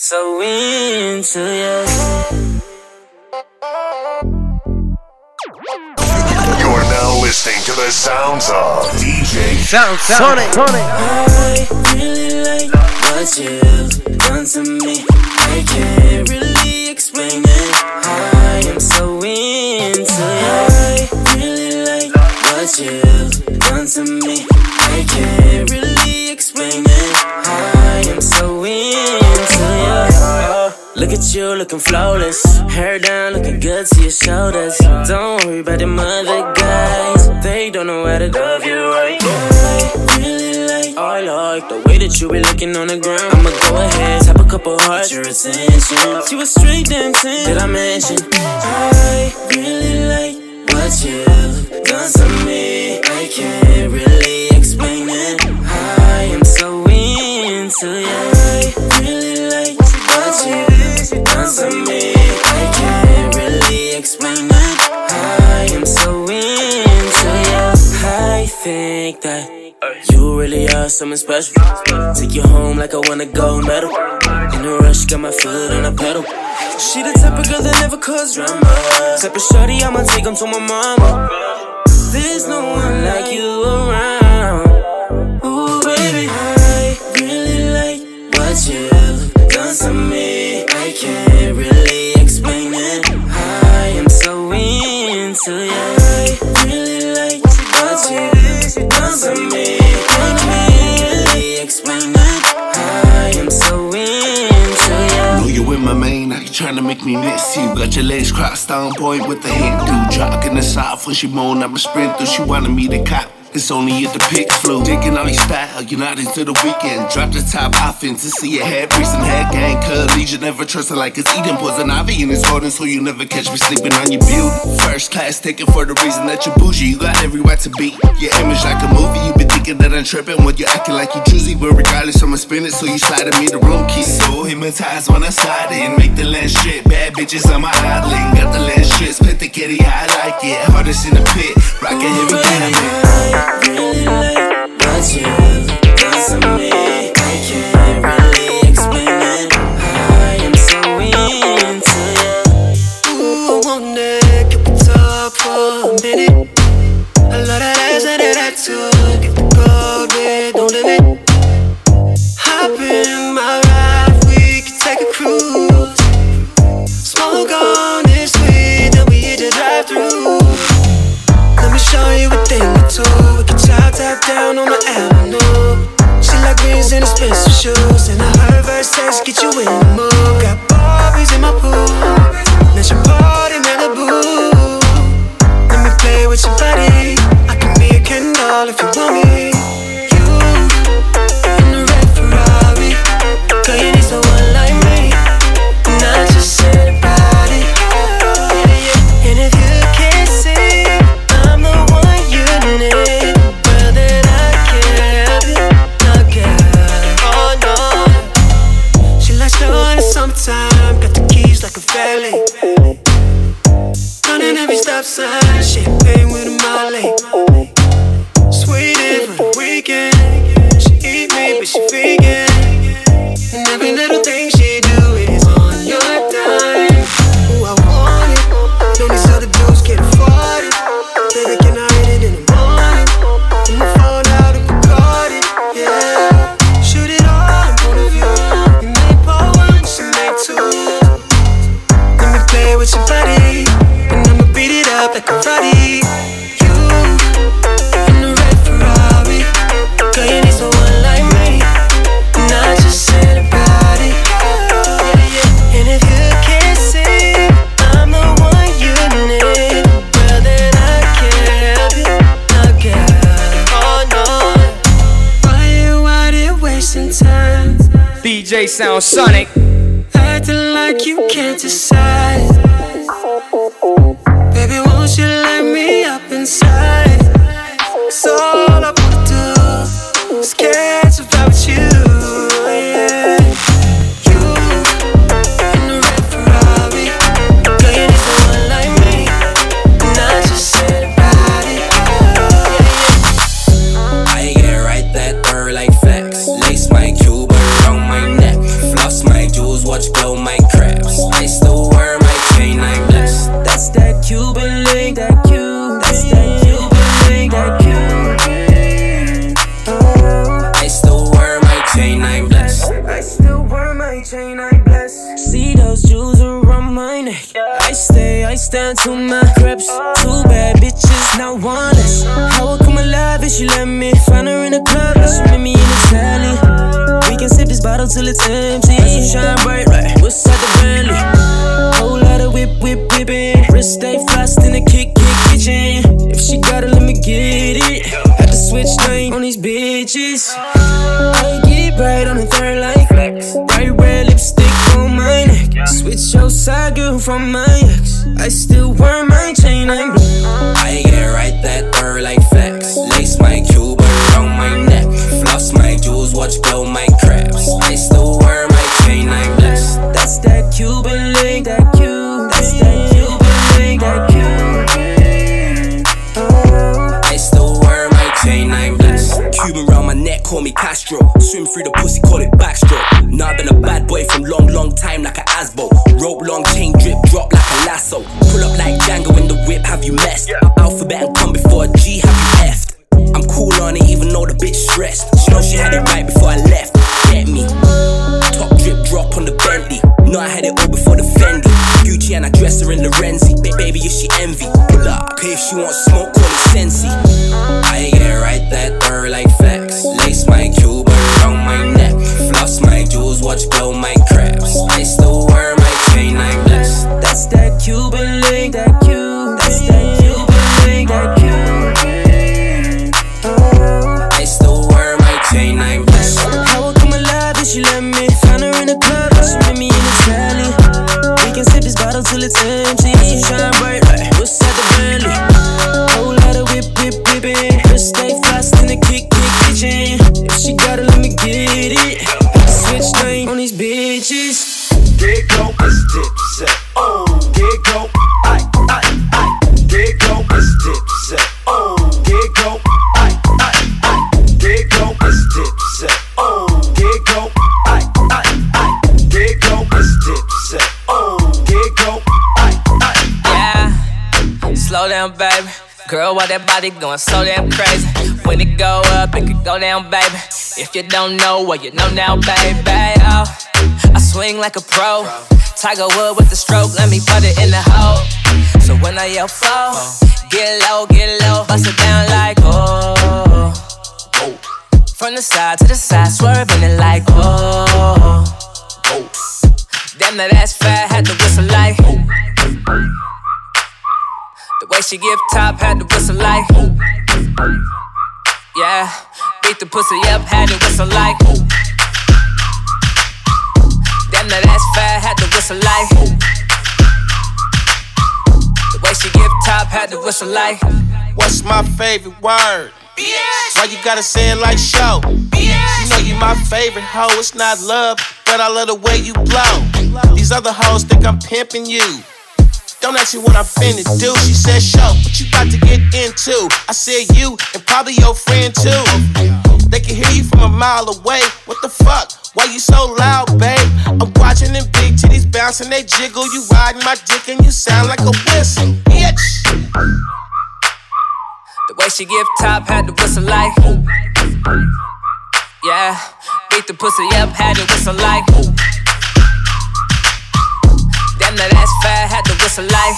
So into you. You're now listening to the sounds of DJ Sonic. I really like what you've done to me. I can't really explain it. I am so into you. I really like what you've done to me. I can't really explain it. I am so into you. Look at you looking flawless. Hair down looking good to your shoulders. Don't worry about them other guys. They don't know how to love you right. I like the way that you be looking on the ground. I'ma go ahead, tap a couple hearts, your attention. She was straight dancing, did I mention? I really like what you've done to me. I can't really explain it. I am so into you. I really like what you've done to me. I can't really explain it. I am so into you. I think that you really are something special. Take you home like I wanna gold medal. In a rush, got my foot on the pedal. She the type of girl that never cause drama. Type of shorty, I'ma take him to my mama. There's no one like you around. Ooh, baby, I really like what you've done to me. I can't really explain it. I am so into you. I really like what you've done to me. My main, now you tryna make me miss you. Got your legs crossed on point with the Hindu. Jogging the south when she moan, I'ma sprint through. She wanted me to cop. It's only if the pics flew. Digging all your style, you're not into the weekend. Drop the top offense to see your head priest and head gang. Collegian never trust her like it's eating poison ivy in his garden, so you never catch me sleeping on your beauty. First class ticket for the reason that you're bougie. You got every right to be. Your image like a movie. You been thinking that I'm tripping when you're acting like you choosy. But regardless, I'ma spin it, so you sliding me the room key. So hypnotized when I slide in. Make the lens shit. Bad bitches on my island. Got the lens shit. Split the kitty, I like it. Hardest in the pit. Rockin' heavy diamond. I really like what you've done to me. I can't really explain it. I am so into you. Ooh, I wanna keep it talk for a minute. I love that ass and that attitude. Get the gold with no limit. Hop in my ride, we can take a cruise. Smoke on this weed, then we hit the drive-thru. Let me show you a thing or two. We can top down on the avenue. She like greens and expensive shoes, and I heard Versace get you in the mood. Got Barbies in my pool. Let's your party Malibu. Let me play with your body. I can be a Ken doll if you want me. You in the red Ferrari. Girl, you need someone like me, not just anybody. And if you can't see, I'm the one you need. Well, then I can't help you, no girl. Oh no. She likes to in the summertime. Got the keys like a valet. Running every stop sign. Champagne with a Molly. Sweet in for the weekend. She eat me, but she vegan. And every little thing she do is on your dime. Ooh, I want it. Know these other dudes can't afford it. Baby, can I hit it in the morning? In the phone out and record it, yeah. Shoot it all in front of you. You may pour one, she make two. Let me play with your body, and I'ma beat it up like karate. You in the red Ferrari. Girl, you need someone like me, not just anybody. And if you can't see, I'm the one you need. Well, then I can't help you, no girl. Oh no. Why you wasting time? DJ Sound Sonic. Acting like you can't decide. Baby, won't you let me up inside? 'Cause all I wanna do is catch a vibe with you, yeah. You in the red Ferrari. Girl, you need someone like me, not just anybody. I get right that third like flex. Lace my Cuban on my neck. Floss my jewels jewels, watch blow my crabs. I still wear my chain, I'm blessed. That's that Cuban link, that Cuban. That's that Cuban link, that Cuban. I still wear my chain, I'm blessed. I still wear my chain, I'm blessed. See those jewels around my neck. I stand to my crepes. Two bad bitches, not one less. How I come alive if she let me find her in the club, and she meet me in the alley. We can sip this bottle till it's empty. Shine bright, right? What's at the Bentley? Whole lot of whipping. Wrist stay fast in the kitchen. If she got it, let me get it. Had to switch lane on these bitches. I get right on the third like flex. Bright red lipstick on my neck. Switch your side, girl, from my ex. I still wear my chain, I'm blue. I get right that third like flex. Lace my Cuban around my neck. Floss my jewels, watch blow my crabs. I still wear my chain, I'm blessed. That's that Cuban link, that Cuban. That's that Cuban link, that Cuban. I still wear my chain, I'm blessed. Cuban round my neck, call me Castro. Swim through the pussy, call it backstroke. Now I've been a bad boy from long time like a Asbo. Rope long chain drip, drop like a lasso. Pull up like Django in the whip, have you messed? Alphabet and come before a G, have you effed? I'm cool on it even though the bitch stressed. She know she had it right before I left. Get me. Top drip drop on the Bentley. No, I had it all before the Fendi. Gucci and I dress her in Lorenzi. Baby, if she envy, pull up. Okay, if she wants smoke, call it Sensi. I get right that third like flex. Lace my Cuban around my neck. Floss my jewels, watch blow my crabs. I still wear my chain, I'm blessed. That's that Cuban link, that Cuban. That's that Cuban link, that Cuban. I still wear my chain, I'm blessed. How I come alive if she let me find her in the club, and she meet me in the alley. We can sip this bottle till it's empty. Shine bright, right? What's at the Bentley? Whole lot of whipping. Wrist stay fast in the kitchen. If she got it, let me get it. Switch lane on these bitches. Get go, it's dipset. Oh, get go, I. Get go, it's dipset. Oh, get go, I. Get go, it's dipset. Oh, get go, I. Get go, it's dipset. Oh, get go, I. Yeah, slow down, baby. Girl, why that body going so damn crazy? When it go up, it could go down, baby. If you don't know, well, you know now, baby. Oh, I swing like a pro. Tiger Wood with the stroke, let me put it in the hole. So when I yell fall, get low, bust it down like oh. From the side to the side, swerving it like oh. Damn, that ass fat, had to whistle like the way she give top, had to whistle like yeah, beat the pussy up, had to whistle like damn, that ass fat, had to whistle like the way she give top, had to whistle like what's my favorite word? Bitch. Why you gotta say it like show? Bitch. You know you my favorite hoe, it's not love, but I love the way you blow. These other hoes think I'm pimping you. Don't ask me what I'm finna do. She said, show, what you about to get into? I said, you and probably your friend too. They can hear you from a mile away. What the fuck? Why you so loud, babe? I'm watching them big titties bouncing, they jiggle. You riding my dick and you sound like a whistle, bitch. the way she give top, had to whistle like yeah, beat the pussy up, had to whistle like damn, that ass fat, had to whistle like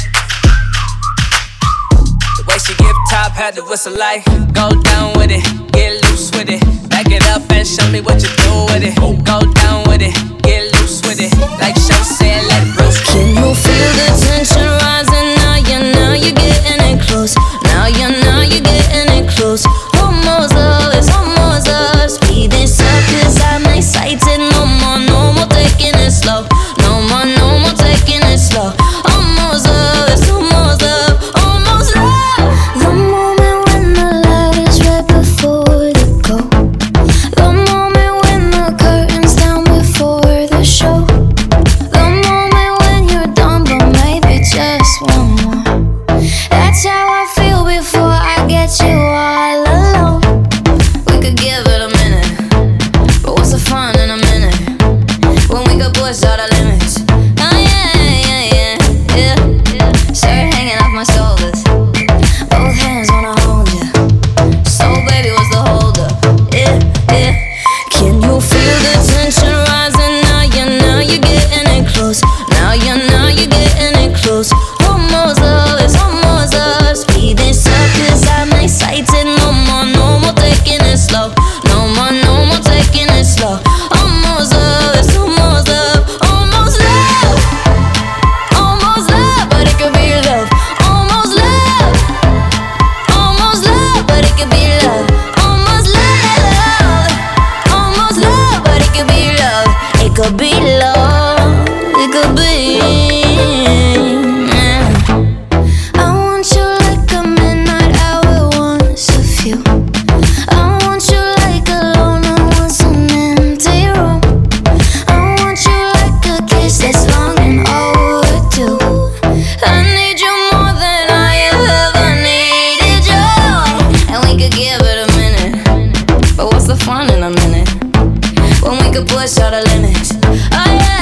the way she give top, had to whistle like go down with it, get loose with it, back it up and show me what you do with it. Go down with it, get loose with it, like Show said, let it roast. Can you feel the tension rising? Now you're getting it close. Now you're getting it close. Almost love, it's almost love. Speed this up 'cause I'm excited. No more taking it slow. No more taking it slow. Almost love, it's almost love, almost love. The moment when the light is right before the go. The moment when the curtains down before push all the limits. Oh yeah. Shirt hanging off my shoulders, both hands wanna hold ya. So baby, what's the hold up? Yeah. Can you feel the tension rising now? You're getting it close. Now you're getting it close. Almost love, it's almost love. Speed this up 'cause I'm excited. No more taking it slow. No more taking it slow. Almost love, it's almost love. Almost love. Almost love, but it could be love. Almost love. Almost love, but it could be love. Almost love. Almost love, but it could be love. It could be love. It could be. I want you like a midnight hour once a few. I want you like a loner once an empty room. I want you like a kiss that's long and overdue. I need you more than I have ever needed you. And we could give it a minute, but what's the fun in a minute when we could push all the limits? Oh yeah.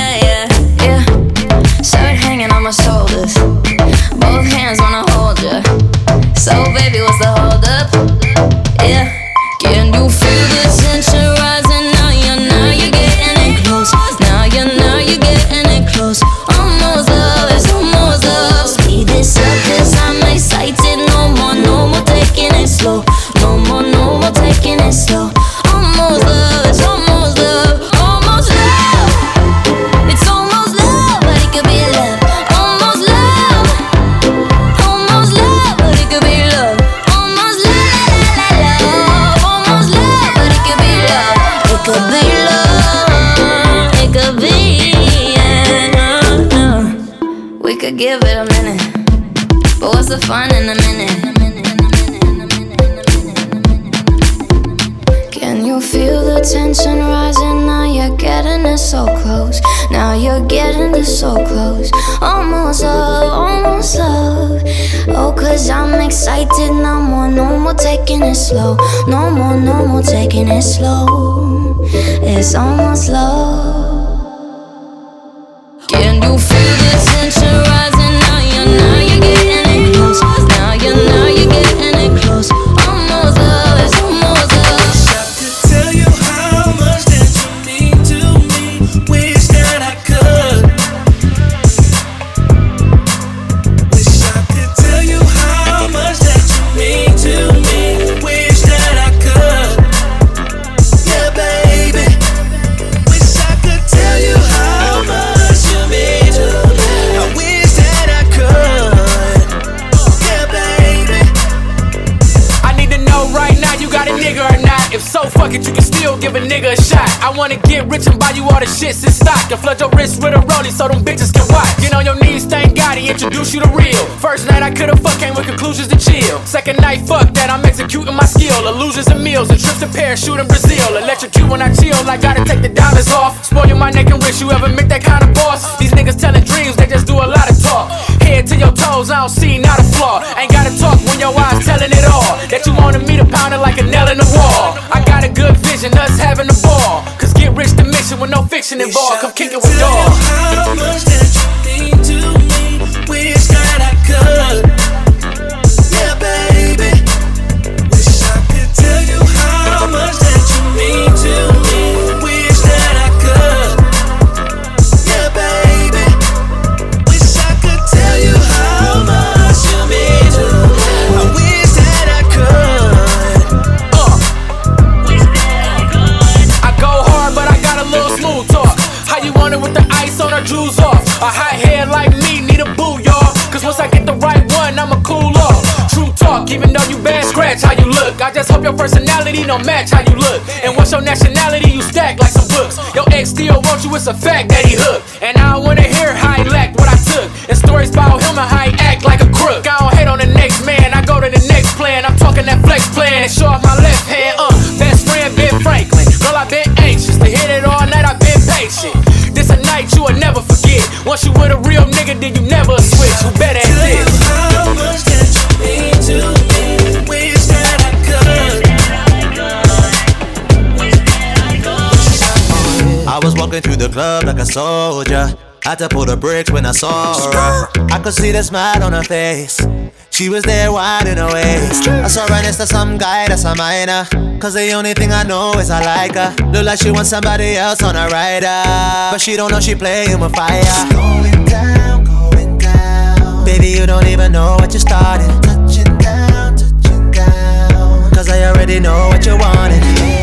Shirt hanging on my shoulders, both hands wanna hold ya. So baby, what's the hold up? Yeah. Can you feel the tension rising now? You're getting it close. Now you're getting it close. Almost love, it's almost love. Speed this up 'cause I'm excited. No more taking it slow. No more taking it slow. Almost love, it's almost love. Almost love. It's almost love, but it could be love. Almost love. Almost love, but it could be love. Almost love. Almost love, but it could be love. It could be love. It could be. We could give it a minute, but what's the fun in a minute? Can you feel the tension rising now? You're getting it so close. Now you're getting it so close. Almost love, almost love. Oh, 'cause I'm excited. No more taking it slow. No more taking it slow. It's almost love. Can you feel the tension rising now? You're getting it close. Now you're getting it close. Almost love, it's almost love. I could tell you how much that you mean to me. Wish that I could. Wish I could tell you how much that you mean to me. Wish that I could. Yeah, baby. Wish I could tell you how much you mean to me. I wish that I could. Yeah, baby. I need to know right now, you got a nigga or not? If so, fuck it, you can still give a nigga a shot. I wanna get rich and buy you all the shits in stock, and flood your wrist with a rollie so them bitches can watch. Get on your knees, thank God he introduced you to real. First night I could've fucked, came with conclusions to chill. Second night, fuck that, I'm executing my skill. Illusions and meals and trips to parachute in Brazil. Electrocute when I chill, I gotta take the dollars off. Spoil my neck and wrist, you ever met that kind of boss? These niggas telling dreams, they just do a lot of talk. Head to your toes, I don't see not a flaw. Ain't gotta talk when your eyes telling it all. That you wanted me to pound it like a nail in the wall. I got a good vision, us having a ball. 'Cause get rich the mission with no fiction involved. Come kick it with dogs. How much that you mean to me? Wish that I could. Yeah, baby. Wish I could tell you how much that you mean to me. Wish that I could. Yeah, baby. Wish I could tell you how much you mean to me. I wish that I could. I go hard, but I got a little smooth talk. How you want it with the ice on her jewels off? A hot head like me need a boo, y'all. 'Cause once I get the right one, I'ma cool off. True talk, even though you bad scratch how you look. I just hope your personality don't match how you look. And what's your nationality? You stack like some books. Your ex still wants you, it's a fact that he hooked. And I don't wanna hear how he lacked what I took. And stories about him and how he act like a crook. I don't hate on the next man, I go to the next plan. I'm talking that flex plan and show off my left hand. Best friend Ben Franklin. Girl, I've been anxious to hit it all night, I've been patient. This a night you will never forget. Once you with a real nigga, then you never switch. Who better at this? How much that you mean to me? Wish that I could. I was walking moving through the club like a soldier. Had to pull the brakes when I saw her. I could see the smile on her face. She was there winding her waist. I saw her next to some guy that's a minor. Cause the only thing I know is I like her. Look like she wants somebody else on her rider. But she don't know she playing with fire. It's going down, going down. Baby, you don't even know what you started. Touching down, touching down. Cause I already know what you wanted.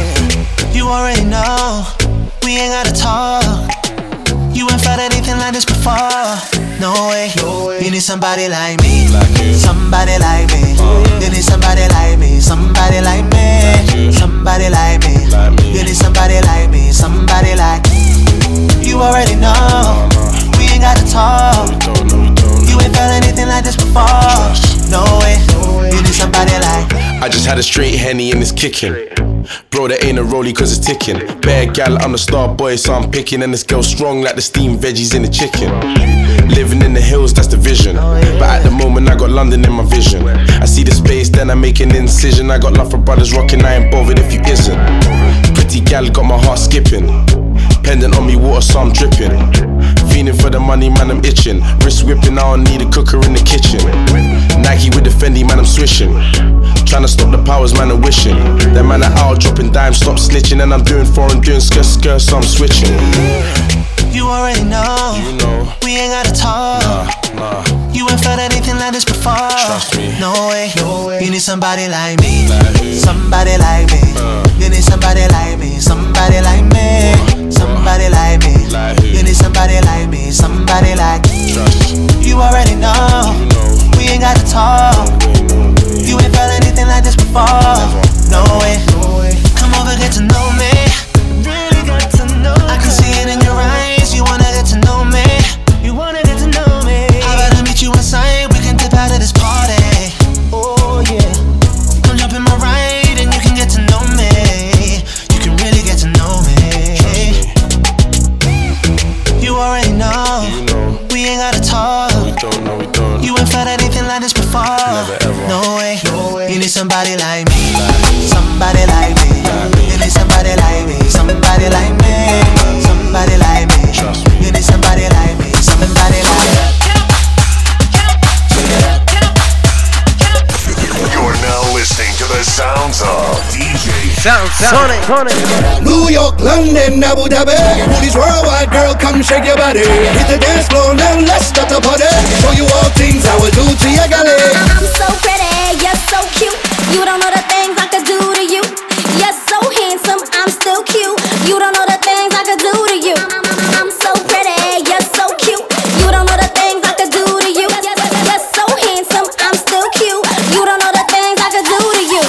You already know. We ain't gotta talk. You ain't felt anything like this before. No way. You need somebody like me. Somebody like me. You need somebody like me. Somebody like me. Somebody like me. You need somebody like me. Somebody like me. You already know. We ain't gotta talk. You ain't felt anything like this before. No way. You need somebody like me. I just had a straight Henny and it's kicking. Bro, that ain't a rollie cause it's ticking. Bad gal, I'm the star boy, so I'm picking. And this girl strong like the steamed veggies in the chicken. Living in the hills, that's the vision. But at the moment I got London in my vision. I see the space, then I make an incision. I got love for brothers rocking, I ain't bothered if you isn't. Pretty gal got my heart skipping. Pendant on me, water, so I'm dripping. Feeling for the money, man, I'm itching. Wrist whipping, I don't need a cooker in the kitchen. Nike with the Fendi, man, I'm swishing. Tryna stop the powers, man, I'm wishing. That man are out, dropping dimes, stop snitching. And I'm doing foreign, doing skirt, so I'm switching. You already know. You know. We ain't gotta talk. Nah. You ain't felt anything like this before. Trust me. No way. You need somebody like me. Somebody like me. You need somebody like me. Somebody like me. Somebody like me. You need somebody like me. Somebody like me. You already know. We ain't gotta talk. You ain't felt anything like this before. No way. Come over, get to know me. Really got to know me. I can see it in your eyes. You wanna get to know me. You wanna get to know me. I better meet you inside. We can dip out of this party. Oh yeah. Come jump in my ride and you can get to know me. You can really get to know me. You already know. You know. We ain't gotta talk. We don't. You ain't felt anything like this before. Never ever. No way. You need somebody like me. Somebody like me. You need somebody like me. Somebody like me. Somebody like me. You need somebody like me. Somebody like me. You're now listening to the sounds of DJ Sonic. New York, London, Abu Dhabi. Booties worldwide, girl, come shake your body. Hit the dance floor now, let's start the party. Show you all things I will do to your galley. I'm so pretty, you're so cute. You don't know the things I could do to you. You're so handsome, I'm still cute. You don't know the things I could do to you. I'm so pretty, you're so cute. You don't know the things I could do to you. You're so handsome, I'm still cute. You don't know the things I could do to you.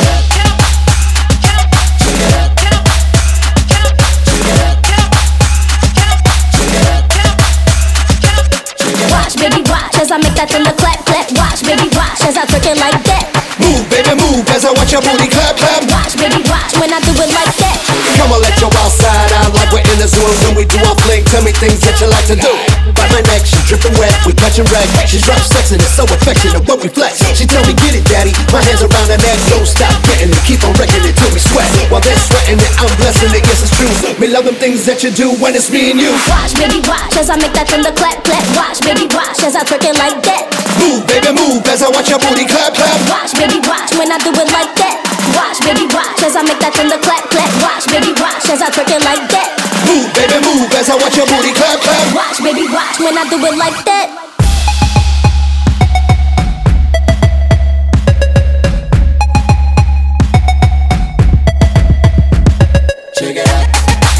Watch, baby, watch as I make that thing clap, clap. Watch, baby, watch as I twerk it like that. Move, baby, move as I watch your booty clap, clap. Watch, baby, watch when I do it like that. Come on, let your wild side out like we're in the zoo. When we do our fling, tell me things that you like to do. By my neck, she's dripping wet, we catching wreck. She's rough, sexing, it's so affectionate when we flex. She tell me, get it, daddy. My hands around her neck, don't stop getting it. Keep on wrecking it till we sweat. While they're sweating it, I'm blessing it, yes, it's true. Me love them things that you do when it's me and you. Watch, baby, watch as I make that thing clap, clap. Watch, baby, watch as I twerk it like that. Move, baby, move as I watch your booty clap, clap. Watch, baby, watch when I do it like that. Watch, baby, watch as I make that thing clap, clap. Watch, baby, watch as I twerk it like that. Move, baby, move as I watch your booty clap, clap. Watch, baby, watch when I do it like that. Check it out.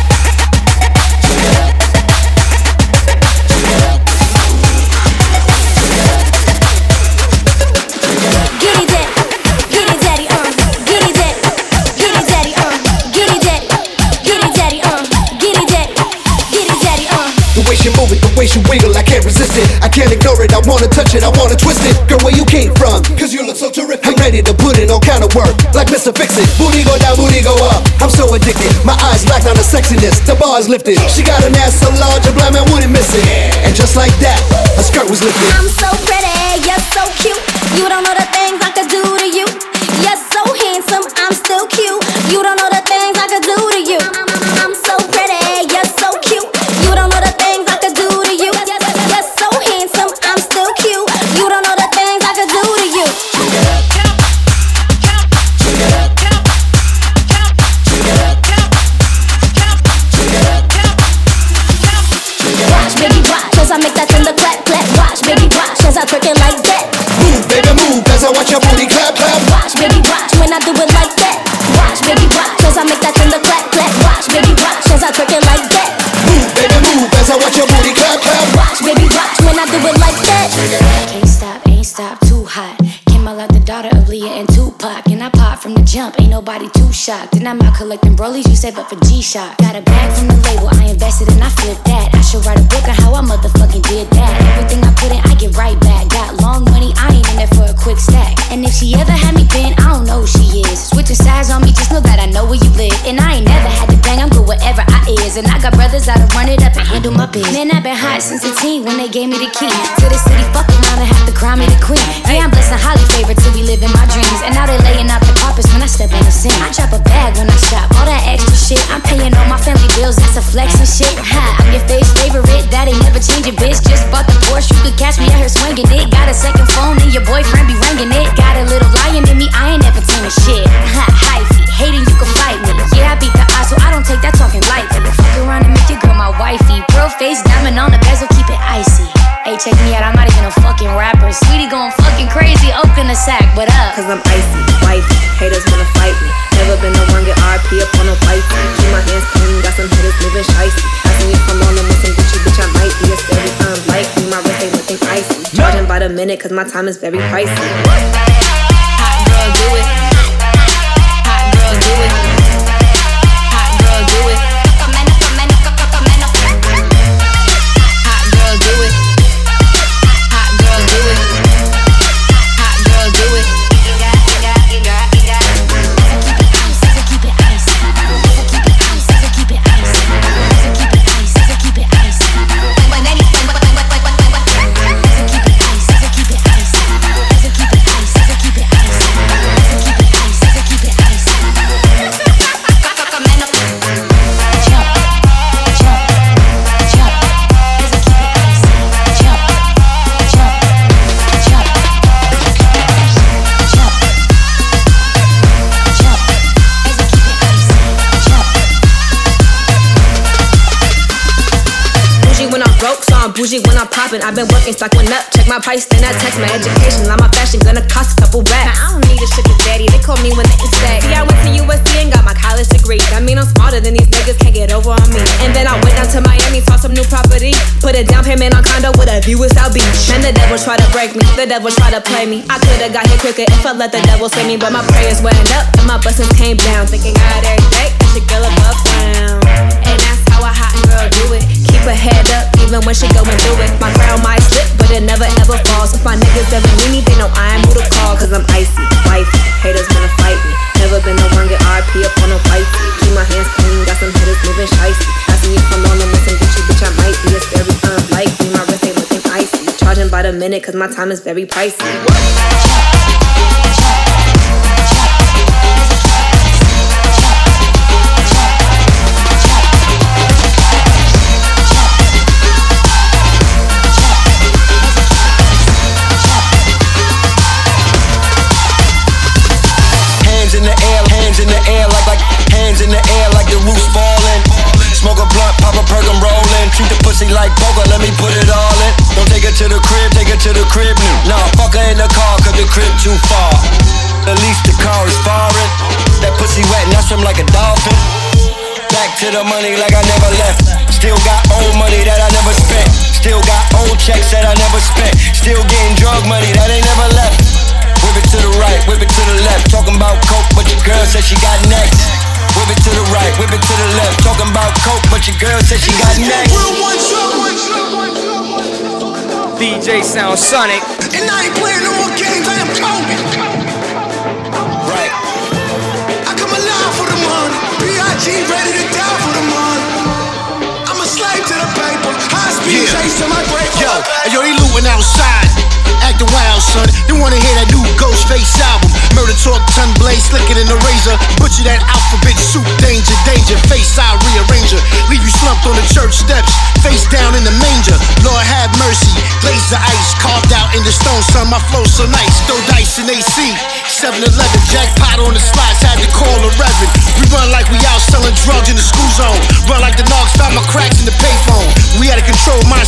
The way she wiggle, I can't resist it. I can't ignore it, I wanna touch it, I wanna twist it. Girl, where you came from? Cause you look so terrific. I'm ready to put in all kind of work, like Mr. Fix-It. Booty go down, booty go up. I'm so addicted, my eyes locked on the sexiness. The bar's lifted, she got an ass so large, a blind man wouldn't miss it. And just like that, her skirt was lifted. I'm so pretty, you're so cute. You don't know the things I could do to you. You're so handsome, I'm still cute. You don't know the things I could do to you. I'm so pretty, you're so cute. I make that thunder clap, clap. Watch, baby, watch, as I twerk it like that. Move, baby, move, as I watch your booty clap, clap. Watch, baby, watch, when I do it like that. Watch, baby, watch, as I make that thunder clap, clap. Watch, baby, watch, as I twerk it like that. Move, baby, move, as I watch your booty clap, clap. Watch, baby, watch, when I do it like that. Can't stop, ain't stop, too hot. Came out like the daughter of Leah and Tupac. And I pop from the jump, ain't nobody too shocked. Then I'm out collecting brolies, you save up for G-Shock. Got a bag from the label, I invested and I flipped that. I should write a book on how I motherfucking did that. Everything I put in, I get right back. Got long money, I ain't in there for a quick stack. And if she ever had me pinned, I don't know who she is. Switching sides on me, just know that I know where you live. And I ain't never had to bang, I'm good wherever I is. And I got brothers that'll run it up and handle my biz. Man, I've been hot since a teen when they gave me the key to the city, fuck around and have to crown me the queen. Yeah, I'm blessed and highly favored to be living my dreams. And now they laying out the carpets when I step on the scene. I drop a bag when I shop, all that extra shit. I'm paying all my family bills, that's a flex and shit. Ha, I'm your face favorite, that ain't never changing, bitch. Just bought the Porsche, you could catch me out here swinging it. Got a second phone and your boyfriend be ringing it. Got a little lion in me, I ain't never teaming shit. Ha, hyphy, hating you can fight me. Yeah, I beat the odds, so I don't take that talking lightly. Fuck around and make your girl my wifey. Pearl face, diamond on the bezel, keep it icy. Hey, check me out, I'm not even a fucking rapper. Sweetie going fucking crazy, open the sack, what up? Cause I'm icy, wifey, haters wanna fight me. Never been the one get RP up on a wifey. Keep my hands clean, got some hitters moving shicey. Asking you from on them with some Gucci, bitch, I might be a steady unlikely. My wrist ain't looking icy. Charging by the minute cause my time is very pricey. Hot girl, do it. Hot girl, do it. Hot girl, do it. Hot girl, do it. Hot girl, do it. Hot girl, do it. Bougie when I'm poppin', I've been working, stocking up. Check my price, then I text my education. Now my fashion gonna cost a couple racks. Now I don't need a sugar daddy, they call me when they stack. See, I went to USC and got my college degree. That mean I'm smarter than these niggas, can't get over on me. And then I went down to Miami, saw some new property. Put a down payment on condo with a view of South Beach. And the devil try to break me, the devil try to play me. I could've got here quicker if I let the devil sway me. But my prayers went up and my blessings came down. Thinking God every day, that your girl above ground. And that's how a hot girl do it. Keep her head up even when she going through it. My crown might slip, but it never ever falls. If my niggas ever need me, they know I am who to call. Cause I'm icy, wifey, haters wanna fight me. Never been the one get RP up on a wifey. Keep my hands clean, got some hitters moving shicey. Asking you from on them with some Gucci, bitch, I might be a very unlikely. My wrist ain't looking icy. Charging by the minute cause my time is very pricey. Hands in the air like hands in the air like the roof's falling. Smoke a blunt, pop a perk, I'm rolling. Treat the pussy like poker, let me put it all in. Don't take her to the crib, take her to the crib. Nah, fuck her in the car, cause the crib too far. At least the car is foreign. That pussy wet and I swim like a dolphin. Back to the money like I never left. Still got old money that I never spent. Still got old checks that I never spent. Still getting drug money that ain't never left. Whip it to the right, whip it to the left. Talking about coke, but your girl said she got next. Whip it to the right, whip it to the left. Talking about coke, but your girl said she got next. DJ Sound Sonic. And I ain't playing no more games, I am Kobe. Right. I come alive for the money. B.I.G. ready to die for the money. I'm a slave to the paper. High speed chase to my break. Yo, they looting outside. Acting wild, son. They wanna hear that new Ghostface album. Murder talk, tongue blade, slicker than a razor. Butcher that alphabet soup, danger, danger. Face I rearranger. Leave you slumped on the church steps. Face down in the manger. Lord have mercy. Glaze the ice, carved out in the stone, son. My flow so nice. Throw dice in AC. 7-11, jackpot on the slots. Had to call a reverend. We run like we out selling drugs in the school zone. Run like the Nogs found my cracks in the payphone. We had to control my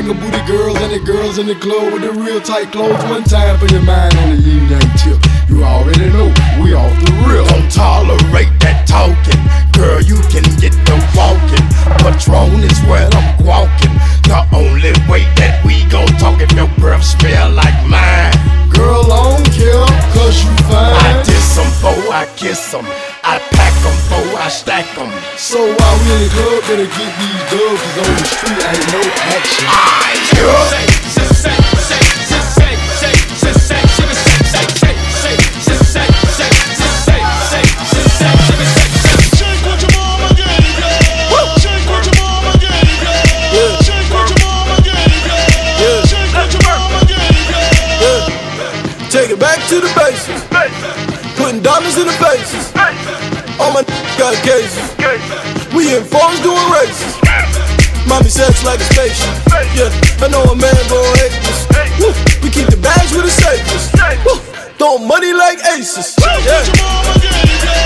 shaker booty girls and the girls in the club with the real tight clothes. One time for your mind on the yin yang tip. You already know we off the real. Don't tolerate that talking, girl. You can get the walking. Patron is where I'm walking. The only way that we gon' talk if your breath smell like mine. Girl, I don't care, cause you fine. I diss them, before I kiss them. I pack them, before I stack them. So while we in the club, better get these dubs, cause on the street ain't no action. Take it back to the basics. Putting diamonds in the faces. All my got cases. We in phones doing races. Mommy sex like a spaceship. Yeah, I know a man gon' hate this. Woo. We keep the bags with the safest. Woo. Throw money like aces. Yeah.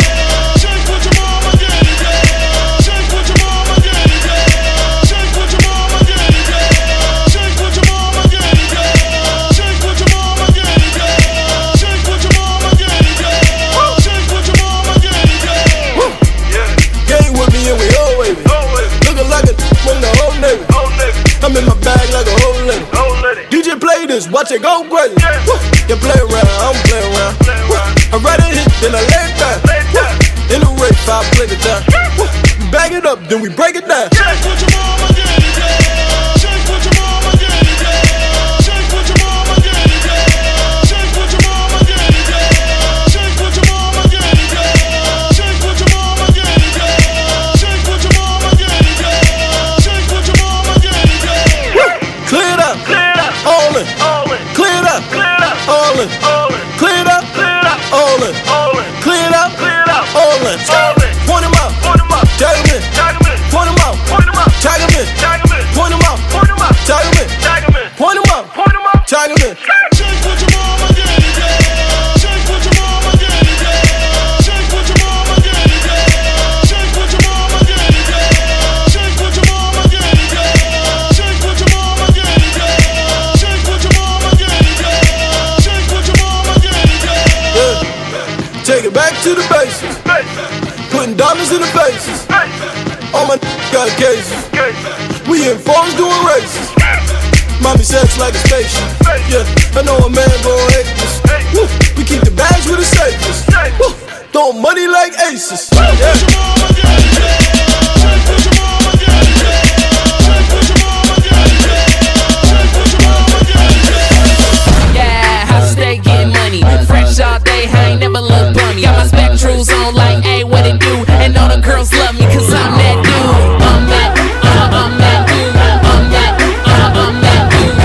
I'm in my bag like a whole lady. DJ play this, watch it go crazy. You play around, I don't play around. I ride a hit, then I lay it down. In the race, I play the down. Bag it up, then we break it down. Point him out, tag him in. Point him out, tag him in. Point him out, tag him in. Point him out, tag him in. Take it back to the basics. Putting diamonds in the faces. All my got cases. We in phones doing races. Mommy sex like a spaceship. Yeah, I know a man gon' hate this. Woo. We keep the bags with the safest. Woo. Throw money like aces. Yeah, I stay getting money. Fresh all day, I ain't never look bummy. Got my spectrals on like, hey, what it do? And all the girls love me cause I'm that dude. I'm that dude. I'm that dude. I'm that dude. I'm that dude.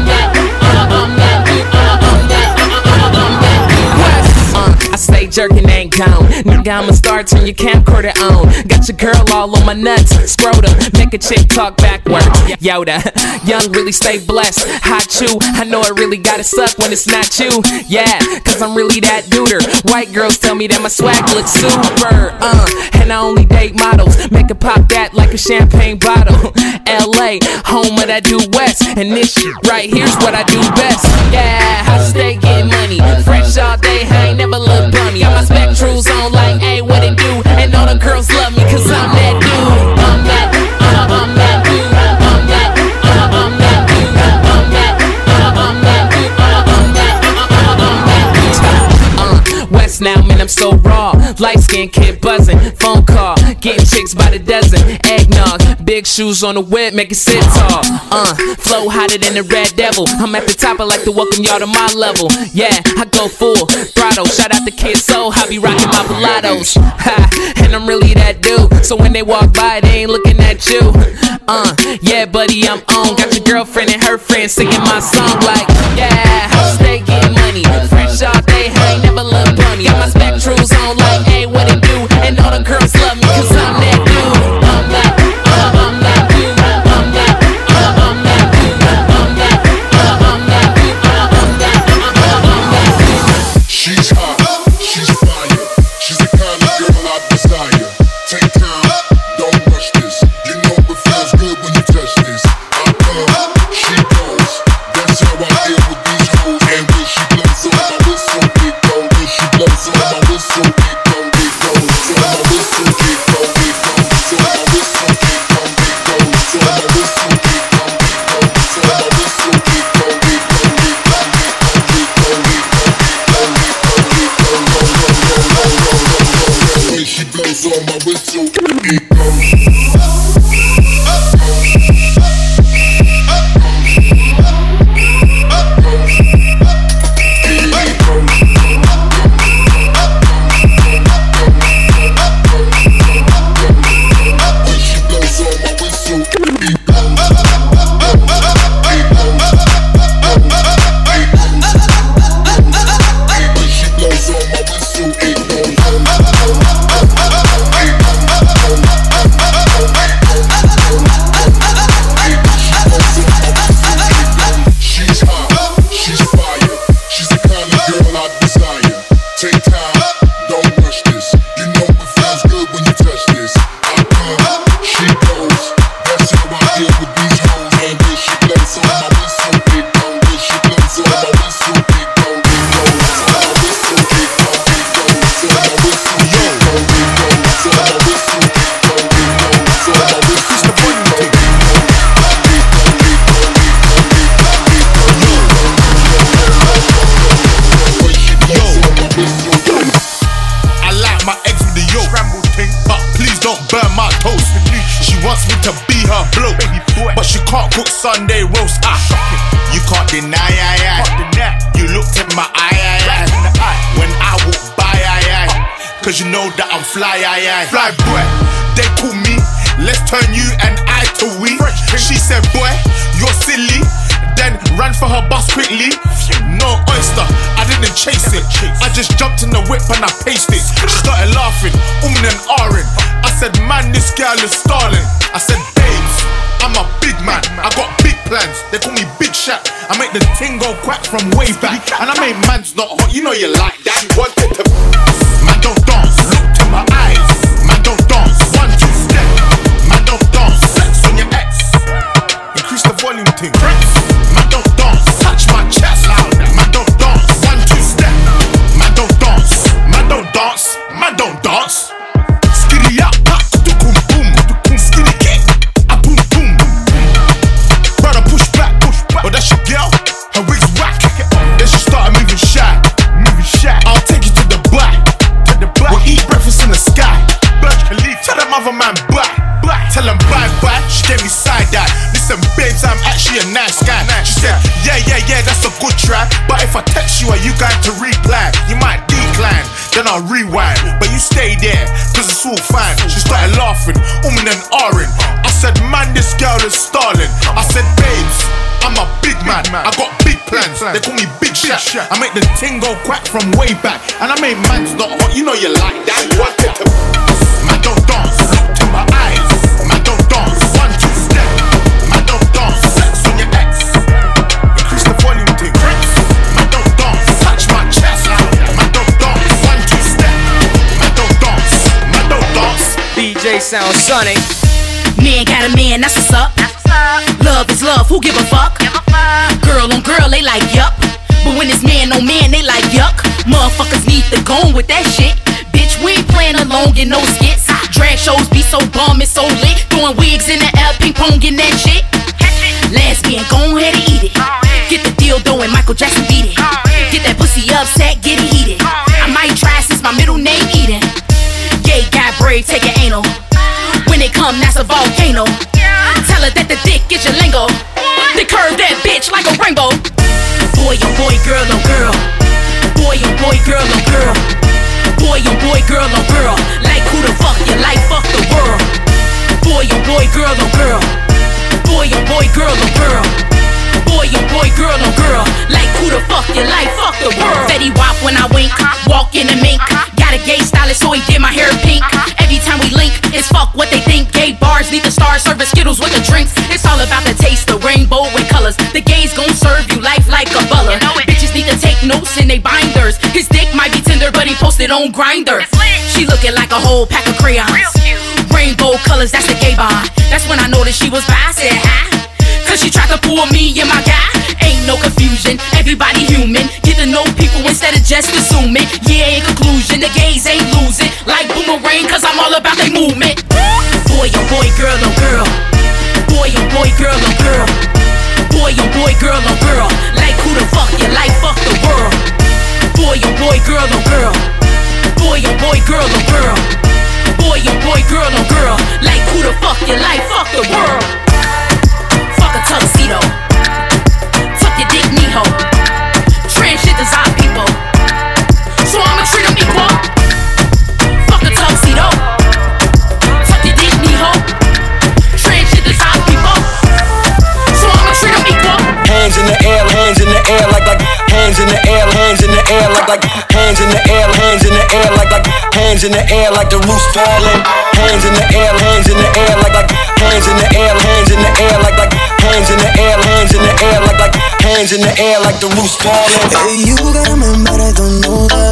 I stay jerking, ain't gone. Nigga, I'ma start, turn your camcorder on. Got your girl all on my nuts, scrotum. Make a chick talk backward. Yoda, young really stay blessed. Hot chew, I know it really gotta suck when it's not you. Yeah, cause I'm really that duder. White girls tell me that my swag looks super. And I only date models. Make it pop that like a champagne bottle. LA, home of that due west. And this shit right here's what I do best. Yeah, I stay getting money. Fresh all day, I ain't never look bummy. Got my spectrals on like, hey, what it do? And all the girls love me cause I'm that dude. I'm that dude. I'm that dude. I'm that dude. I'm that dude. I'm that dude. I'm that dude. West now, man, I'm so raw. Light skin kid buzzing. Phone call, getting chicks by the dozen. Eggnog, big shoes on the whip, make it sit tall. Flow hotter than the Red Devil. I'm at the top, I like to welcome y'all to my level. Yeah, I go full throttle. Shout out to Kid Soul, I be rocking my Pilatos. And I'm really that dude. So when they walk by, they ain't looking at you. Yeah, buddy, I'm on. Got your girlfriend and her friends singing my song like, yeah, I stay getting money. Fresh all day, I ain't never look bummy. Got my spectrals on like, hey, what it do? And all the girls love me cause I'm that dude. I'm that dude. I'm that dude. I'm that dude. I'm that dude. I'm that dude. I'm that dude. I'm that dude. She's hot, she's fire. She's the kind of girl I desire. Take time, don't rush this. You know it feels good when you touch this. I come, Sunday roast. You can't deny, You looked in my eye. When I walk by, cause you know that I'm fly, Fly boy, they call me. Let's turn you and I to we. She said, boy, you're silly. Then ran for her bus quickly. No oyster, I didn't chase it. I just jumped in the whip and I paced it. She started laughing, and ahhing. I said, man, this girl is stalling. I said, babes, I'm a big man. I got big plans. They call me Big Shaq. I make the ting go quack from way back. And I make man's not hot. You know you like that. Wanted to man don't dance. Look to my eyes. Man don't dance. 1, 2 step. Man don't dance. Sex on your ex. Increase the volume thing. Man don't dance. Touch my chest louder. Man don't dance. 1, 2 step. Man don't dance. Man don't dance. Man don't dance. Skitty up. Boom boom. Skinny kick. Boom boom. Brother push back. But that's your girl. Her wig's whack. Then she started moving shy. I'll take you to the back. We'll eat breakfast in the sky. Tell them other man bye. Tell them bye. She gave me side eye. Listen, babes, I'm actually a nice guy. She said, yeah, that's a good try. But if I text you, are you going to reply? You might decline, then I'll rewind. But you stay there, cause it's all fine. She started laughing, and ahhing. I said, man, this girl is stalling. I said, babes, I'm a big man. I got big plans. They call me Big Shaq. I make the ting go quack from way back. And I make man's not hot. You know you like that. Wanted to man don't dance. Look to my eyes. Man don't dance. 1, 2 step. Man don't dance. Sex on your ex. Increase the volume thing. Man don't dance. Touch my chest. Man don't dance. 1, 2 step. Man don't dance. Man don't dance. BJ sounds sunny. Man got a man, that's what's up. Love is love, who give a fuck? Girl on girl, they like yup. But when it's man on man, they like yuck. Motherfuckers need to go on with that shit. Bitch, we ain't playing alone, get no skits. Drag shows be so bum, it's so lit. Throwing wigs in the air, ping pong in that shit. Lesbian, go ahead and eat it. Get the dildo and Michael Jackson beat it. Get that pussy upset, get it heated. I might try since my middle name Eden. Gay guy brave, take an anal. When it come, that's a volcano. Tell her that the dick is your lingo. They curve that bitch like a rainbow. Boy, oh boy, girl, oh girl. Boy, oh boy, girl, oh girl. Boy, oh boy, girl, oh girl. Like who the fuck you like, fuck the world. Boy, oh boy, girl, oh girl. Boy, oh boy, girl, oh girl. Boy, oh boy, girl, oh girl. Like who the fuck you like, fuck the world. Fetty Wap when I wink, walk in the mink. Got a gay stylist, so he did my hair pink. Every time we link, it's fuck what they think. Gay bars need the stars, serving Skittles with the drinks. It's all about the taste, the rainbow and colors. The gays gon' serve you life like a butler. Bitches need to take notes in they binders. His dick might be tender, but he posted on Grindr. She looking like a whole pack of crayons. Rainbow colors, that's the gay bond. That's when I noticed she was bi. I said hi, cause she tried to pull me and my guy. Ain't no confusion, everybody human. Get to know people instead of just assuming. Yeah, in conclusion, the gays ain't losing. Like Boomerang, cause I'm all about their movement. Boy, oh boy, girl, oh girl. Boy, oh boy, girl, oh girl. Boy, oh boy, girl, oh girl. Like who the fuck you like, fuck the world. Boy, oh boy, girl, oh girl. Boy, oh boy, girl, oh girl. Boy, oh boy, girl, oh girl. Like who the fuck you like, fuck the world. Fuck a tuxedo. Tuck your dick, Neho. Transgenders are people, so I'ma treat them equal. Fuck a tuxedo. Tuck your dick, Neho. Transgenders are people, so I'ma treat them equal. Hands in the air, hands in the air, like hands in the air, hands in the air, like hands in the air, hands in the air, like hands in the air, like the roof's falling. Hands in the air, hands in the air, like hands in the air, hands in the air, like hands in the air, hands in the air, like hands in the air, like the roof's falling. Hey, you got a man, but I don't know that.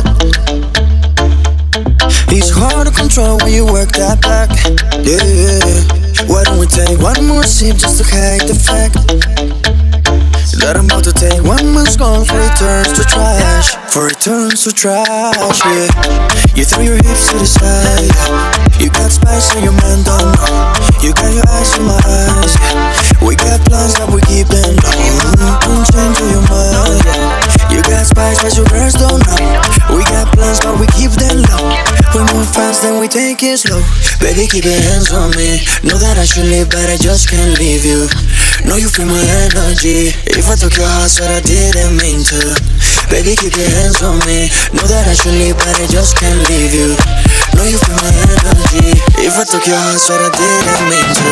It's hard to control when you work that back. Yeah, why don't we take one more sip just to hide the fact that I'm about to take one more skull for it turns to trash. For it turns to trash, yeah. You throw your hips to the side. You got spice on your man down. You got your eyes on my eyes. We got plans that we keep them down. Don't change your mind. You got spice but your girls don't know. We got plans but we keep them low. We move fast then we take it slow. Baby, keep your hands on me. Know that I should leave, but I just can't leave you. Know you feel my energy. If I took your heart, said I didn't mean to. Baby, keep your hands on me. Know that I should leave, but I just can't leave you. Know you feel my energy. If I took your heart, said I didn't mean to.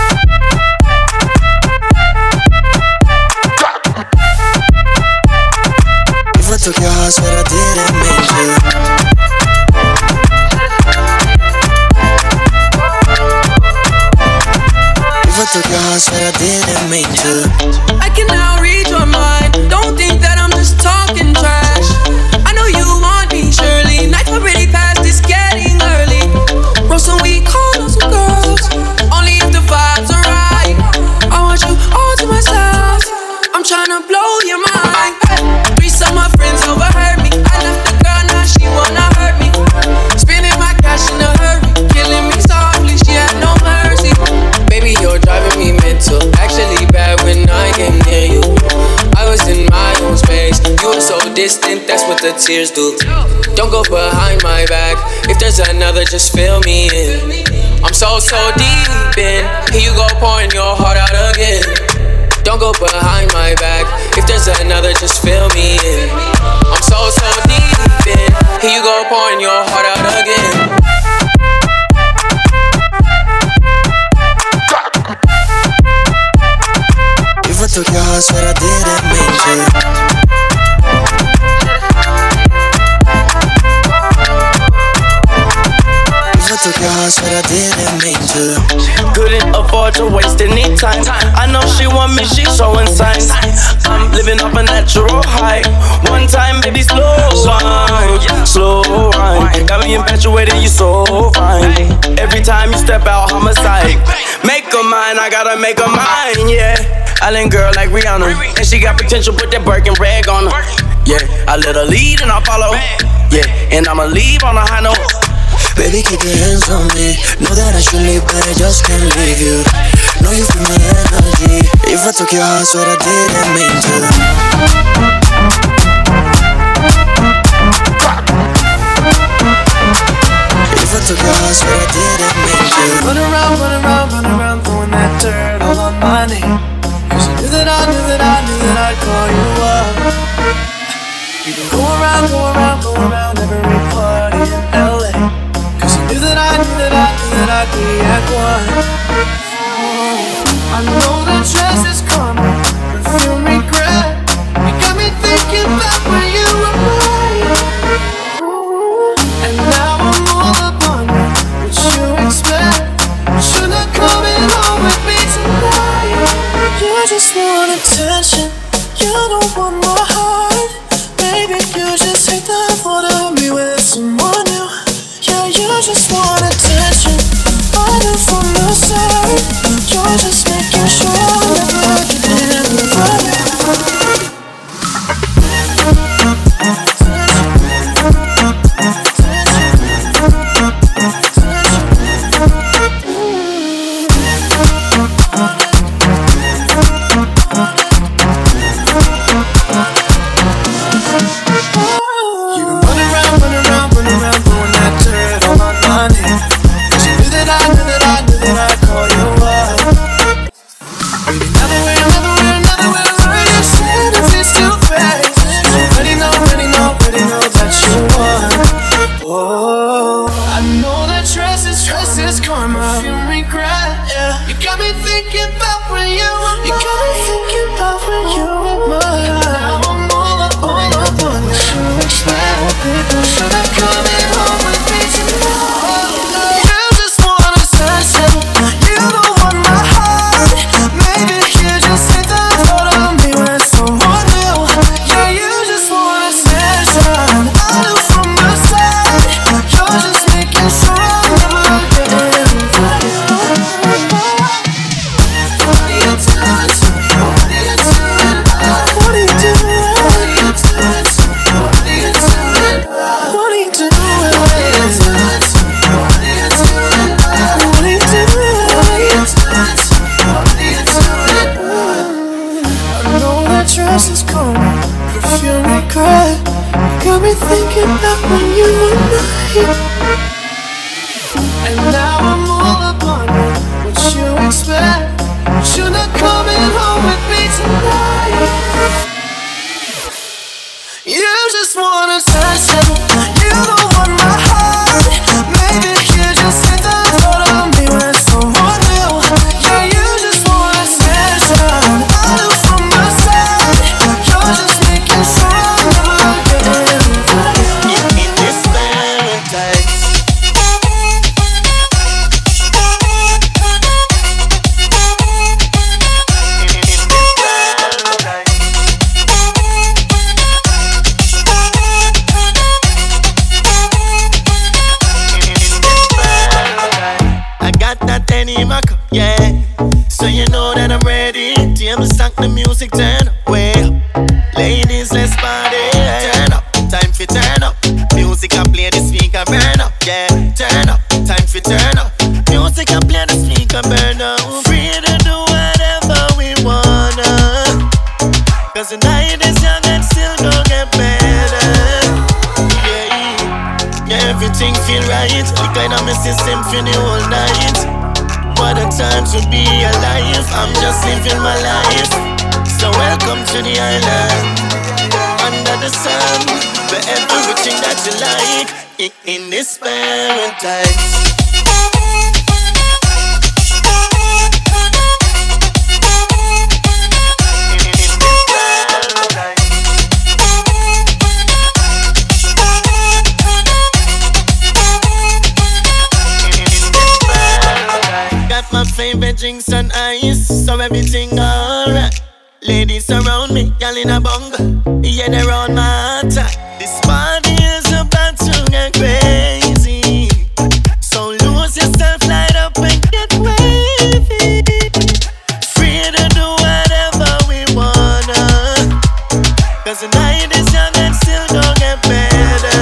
If I took your heart, said I didn't mean to. If I took your heart, said I didn't mean to. I can now read your mind. Don't think that I'm just talking trash. I know you want me, surely. Nights already past, it's getting early. Roll some weed, call on some girls. Only if the vibes are right. I want you all to myself. I'm tryna blow your mind. Three of my friends overheard me. I left the girl, now she wanna hurt me. Spending my cash in a hurry. Killing me softly, she had no mercy. Baby, you're driving me mental. Actually bad when I came near you. I was in my own space. You were so distant, that's what the tears do. Don't go behind my back. If there's another, just fill me in. I'm so deep in. Here you go pouring your heart out again. Don't go behind my back. If there's another, just fill me in. I'm so deep in. Here you go pouring your heart out again. If I took your heart, said I didn't mean to. If I took your heart, said I didn't mean to. Couldn't afford to waste any time. I know she want me, she's showing signs. I'm living off a natural high. One time, baby, slow wine. Got me infatuated, you so fine. Every time you step out, homicide. Make her mine, I gotta make her mine, yeah. Island girl like Rihanna, and she got potential, put that Birkin rag on her. Yeah, I let her lead and I follow. Yeah, and I'ma leave on a high note. Baby, keep your hands on me. Know that I should leave, but I just can't leave you. Know you feel my energy. If I took your heart, swear I didn't mean to. If I took your heart, swear I didn't mean to. Run around, throwing that dirt all on my name. Cause you knew that I'd call you up. You can go around every party in LA. Cause you knew that I'd be at one. I know that dress is karma, perfume regret. You got me thinking back when you were mine. And now I'm all up on you, what you expect? Should not coming home with me tonight. You just want attention, you don't want my heart. Maybe you just hate the thought of me with someone new. Yeah, you just want attention, I knew from the start. You're just making sure that I didn't run. And now I'm all upon you. What you expect? You're not coming home with me tonight. You just wanna touch it. You don't want my heart. Maybe you just hit the thought of me with someone new. Yeah, you just wanna stand down. I look from my side. You're just making sure I'm never again. In this paradise. Yeah, so you know that I'm ready. Table stack, the music turn way up. Ladies, let's party. Turn up, time for turn up. Music I play, the speaker burn up. Yeah, turn up, time for turn up. Music I play, the speaker burn up. Free to do whatever we wanna. Cause the night is young and still gon' get better. Yeah, everything feel right. Like I'm in my system for the whole night. What a time to be alive. I'm just living my life. So welcome to the island. Under the sun, for everything that you like. In this paradise. My favorite drinks and ice, so everything alright. Ladies around me, y'all in a bunga. Yeah, they're on my attack. This party is about to get crazy. So lose yourself, light up and get wavy. Free to do whatever we wanna. Cause the night is young and still gon' get better.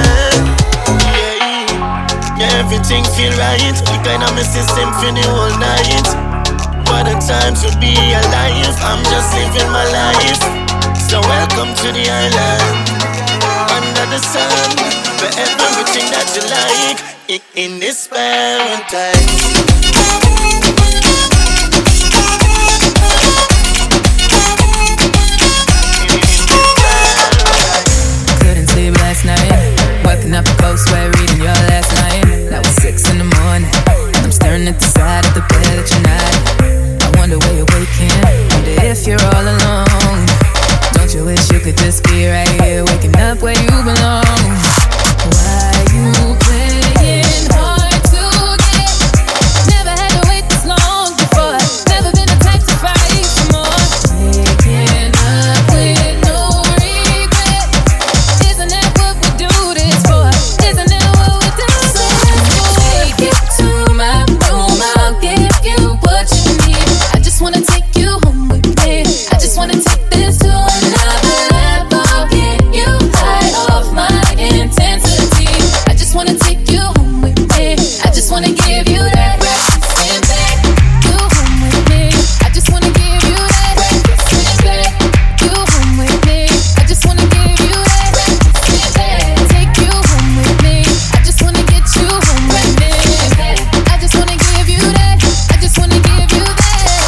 Yeah, everything feel right. Like I'm a system for the whole night. What a time to be alive. I'm just living my life. So welcome to the island. Under the sun, for everything that you like. In this paradise. Last night, waking up close way reading your last night. That was 6 in the morning. I'm staring at the side of the bed that you're not. I wonder where you're waking. Wonder if you're all alone. Don't you wish you could just be right here, waking up where you belong? Why you playing hard to get? Never had to wait this long before. Never been the type to fight for more. Waking up with no regret. Isn't that what we do this for? Isn't that what we do? So let's take it to my room. I'll give you what you need. I just wanna take you home with me. I just wanna take this to another level. Get you high off my intensity. I just wanna take you home with me. I just wanna give you that breakfast and back. You home with me. I just wanna give you that breakfast and back. You home with me. I just wanna give you that breakfast and back. Take you home with me. I just wanna get you home with me. I just wanna give you that. I just wanna give you that.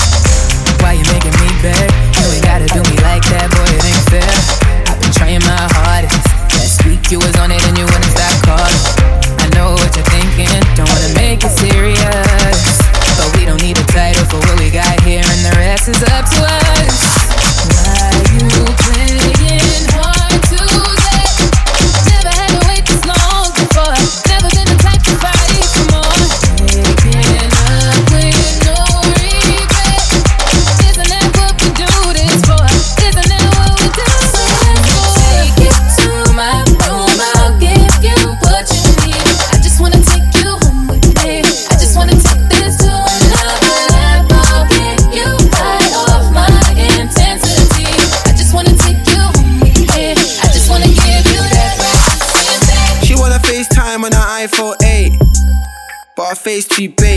Why you making me beg? You ain't gotta do me like that, boy, it ain't fair. I've been trying my hardest. Last week you was on it and you wouldn't stop calling. I know what you're thinking, don't wanna make it serious, but we don't need a title for what we got here, and the rest is up to us. Why you playing hard to get? Never had to wait this long before. Never been the type to fight for more. Waking up with no regret. Isn't that what we do this for? Isn't that what we do? So let's take it to my room. I'll give you what you need. I just wanna take you home with me. I just wanna take this to another level. Get you high off my intensity. I just wanna take you home with me. I just wanna give you that breakfast and back. She wanna FaceTime on her iPhone 8, but her face too bait. Took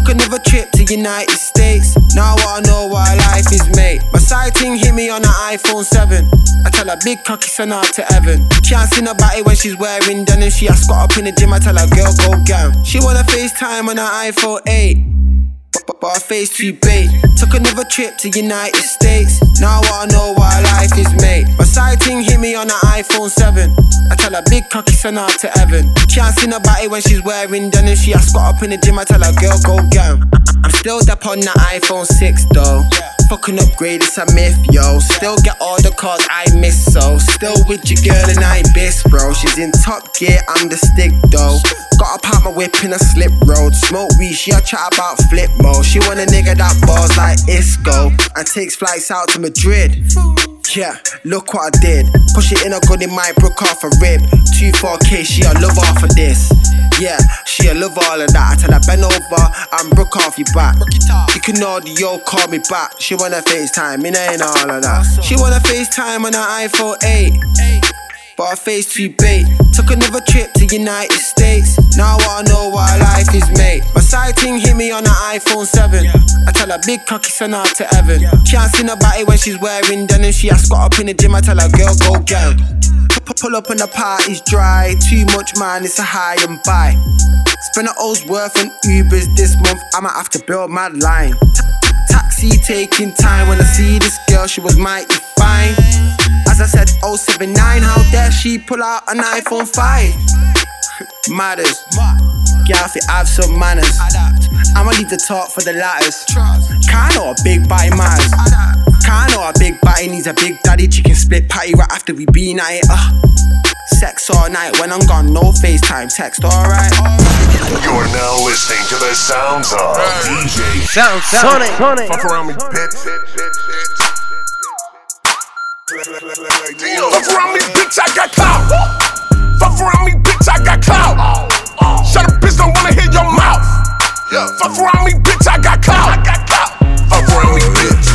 Took another trip to United States. Now I wanna know why life is made. My side ting hit me on an iPhone 7. I tell her big cocky send her to heaven. Can't see nobody when she's wearing denim. She a squat up in the gym. I tell her girl go gam. She wanna FaceTime on an iPhone 8. But her face too bait. Took another trip to United States. Now I wanna know why life is made. My side ting hit me on an iPhone 7. I tell her big cocky send her to heaven. Can't see nobody when she's wearing denim. She a squat up in the gym. I tell her girl go gam. I'm still up on the iPhone 6 though. Fucking upgrade, it's a myth, yo. Still get all the cars I miss, so still with your girl in Ibis, bro. She's in top gear, I'm the stick, though. Got a pop my whip in a slip road. Smoke weed, she a chat about flip mode. She want a nigga that balls like Isco and takes flights out to Madrid. Yeah, look what I did. Push it in a gun, it might broke off a rib. 24K, she a love off of this. Yeah, she a love all of that. I tell her bend over and broke off your back. You can audio, call me back. She wanna FaceTime, it ain't all of that. She wanna FaceTime on an iPhone 8. But her face too bait. Took another trip to United States. Now I wanna know why life is made. My side ting hit me on an iPhone 7. I tell her big cocky send her to heaven. Can't see nobody when she's wearing denim. She a squat up in the gym. I tell her girl go get. Pull up and the party's dry. Too much man, it's a high and buy. Spend an O's worth on Ubers this month. I might have to build my line. Taxi taking time. When I see this girl, she was mighty fine. As I said, 079, how dare she pull out an iPhone 5? Matters. Girl, if you have some manners, I'ma leave the talk for the latters. Can't know a big body matters. Can't know a big body needs a big daddy. Chicken split patty right after we been at it. Sex all night when I'm gone, no FaceTime text, alright? You're now listening to the sounds of DJ Sonic. Fuck around me, bitch. Fuck around me, bitch, I got clout. Fuck around me, bitch, I got clout. Shut up, bitch, don't wanna hear your mouth. Fuck around me, bitch, I got clout. Fuck around me, bitch.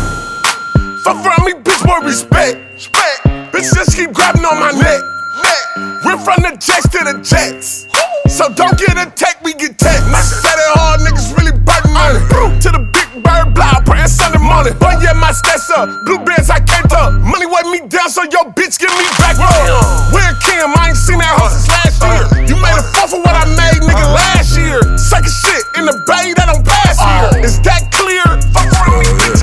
Fuck around me, bitch, more respect. Bitch, just keep grabbing on my neck. We're from the jets to the jets. So don't get attacked, we get text. I said it hard, niggas really biting money. To the big bird block, praying Sunday morning. But yeah, my stats up, blue bands I can't up. Money weigh me down, so yo bitch give me back up. Where Kim, I ain't seen that hoe since last year. You made a fuck for what I made, nigga, last year. Second shit in the bay that don't pass here. Is that clear? Fuck around me, bitch.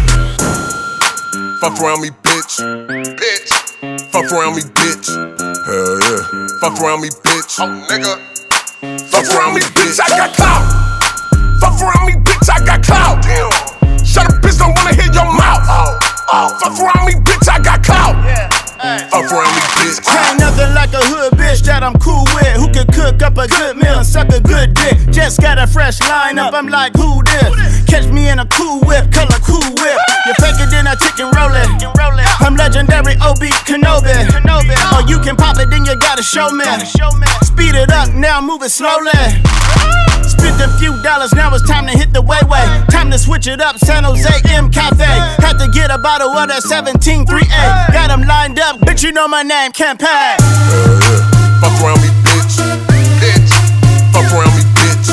Fuck around me, bitch. Bitch. Fuck around me, bitch. Hell yeah. Fuck around me, bitch. Oh, nigga. Fuck around me, bitch, I got clout. Fuck around me, bitch, I got clout. Shut up, bitch, don't wanna hear your mouth. Fuck around me, bitch, I got clout. Fuck around me, bitch. Ain't nothing like a hood bitch that I'm cool with. Who can cook up a good meal and suck a good dick. Just got a fresh lineup, I'm like, who this? Catch me in a cool whip, color cool whip. You fake it, then I chicken roll it. I'm legendary Obi Kenobi. Or you can pop it, then you gotta show me. Speed it up, now move it slowly. Spent a few dollars, now it's time to hit the way. Time to switch it up, San Jose M Cafe. Had to get a bottle of that 17-3A. Got them lined up, bitch, you know my name, campaign. Fuck around me, bitch. Bitch. Fuck around me, bitch.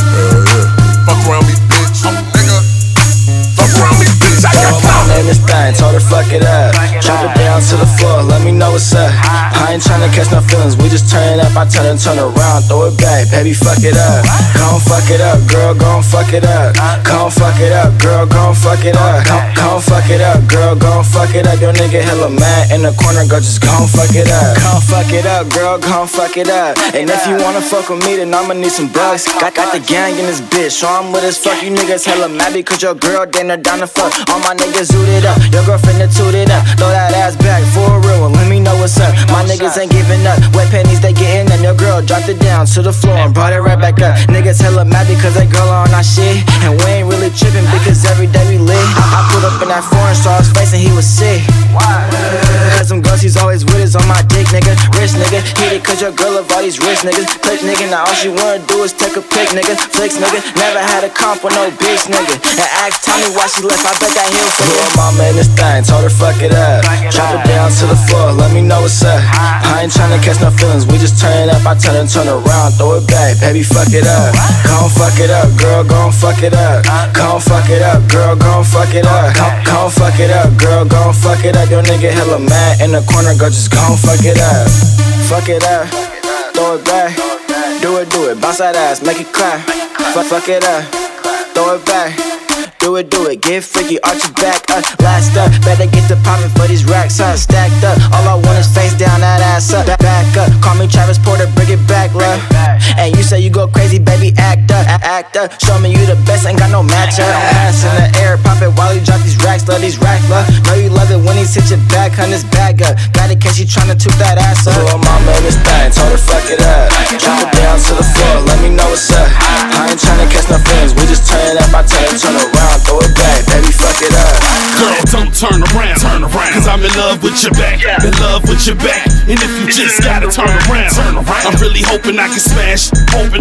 Fuck around me, bitch. Oh, nigga. Fuck around me, bitch. I got clout. My name is Stein, told her fuck it up. Drop it down to the floor, let me know what's up. I ain't tryna catch no feelings, we just turn it up. I turn around, throw it back, baby, fuck it up. Gon' fuck it up, girl, gon' fuck it up. Gon' fuck it up, girl, gon' fuck it up. Gon' fuck it up, girl, gon' fuck it up. Your nigga hella mad in the corner, girl, just gon' fuck it up. Gon' fuck it up, girl, gon' fuck it up. And if you wanna fuck with me, then I'ma need some bucks. Got the gang in this bitch, so I'm with as fuck. You niggas hella mad because your girl dinner down the fuck. All my niggas zooted up, your girlfriend that tooted up. Throw that ass back for a real one, let me know what's up. My niggas ain't giving up, wet panties they getting and your girl dropped it down to the floor and brought it right back up. Niggas hella mad because that girl on our shit, and we ain't really tripping because every day we lit. I put up in that foreign, saw his face and he was sick. Cause them girls he's always with is on my dick, nigga. Rich nigga, hit it cause your girl love all these rich niggas. Click nigga, now all she wanna do is take a pic, nigga. Flicks nigga, never had a comp with no bitch nigga. And ask Tommy why she left, I bet that he'll for her mama in this thing, told her fuck it up. Drop it down to to the floor, let me know what's up. I ain't tryna catch no feelings, we just turn it up. I turn around, throw it back, baby, fuck it up. Gon' fuck it up, girl, gon' fuck it up. Gon' fuck it up, girl, gon' fuck it up. Gon' fuck it up, girl, gon' fuck it up. Your nigga hella mad in the corner, girl, just gon' fuck it up. Fuck it up, throw it back. Do it, bounce that ass, make it clap. Fuck it up, throw it back. Do it, get freaky, arch your back up. Last up, better get the poppin' for these racks, stacked up. All I want is face down, that ass up. Back up, call me Travis Porter, bring it back, love. And you say you go crazy, baby, act up. Show me you the best, ain't got no match up. Ass in the air, pop it while you drop these racks, love. Know you love it when he sit your back, hun, his bag up. Got it, cause she tryna toot that ass up. Little mama in this thing, told her fuck it up. Drop it down to the floor, let me know what's up. I ain't tryna catch no feelings, we just turn it up. I turn around, throw it back, baby, fuck it up. Girl, don't turn around, cause I'm in love with your back, in love with your back. And if you just gotta turn around, I'm really hoping I can smash,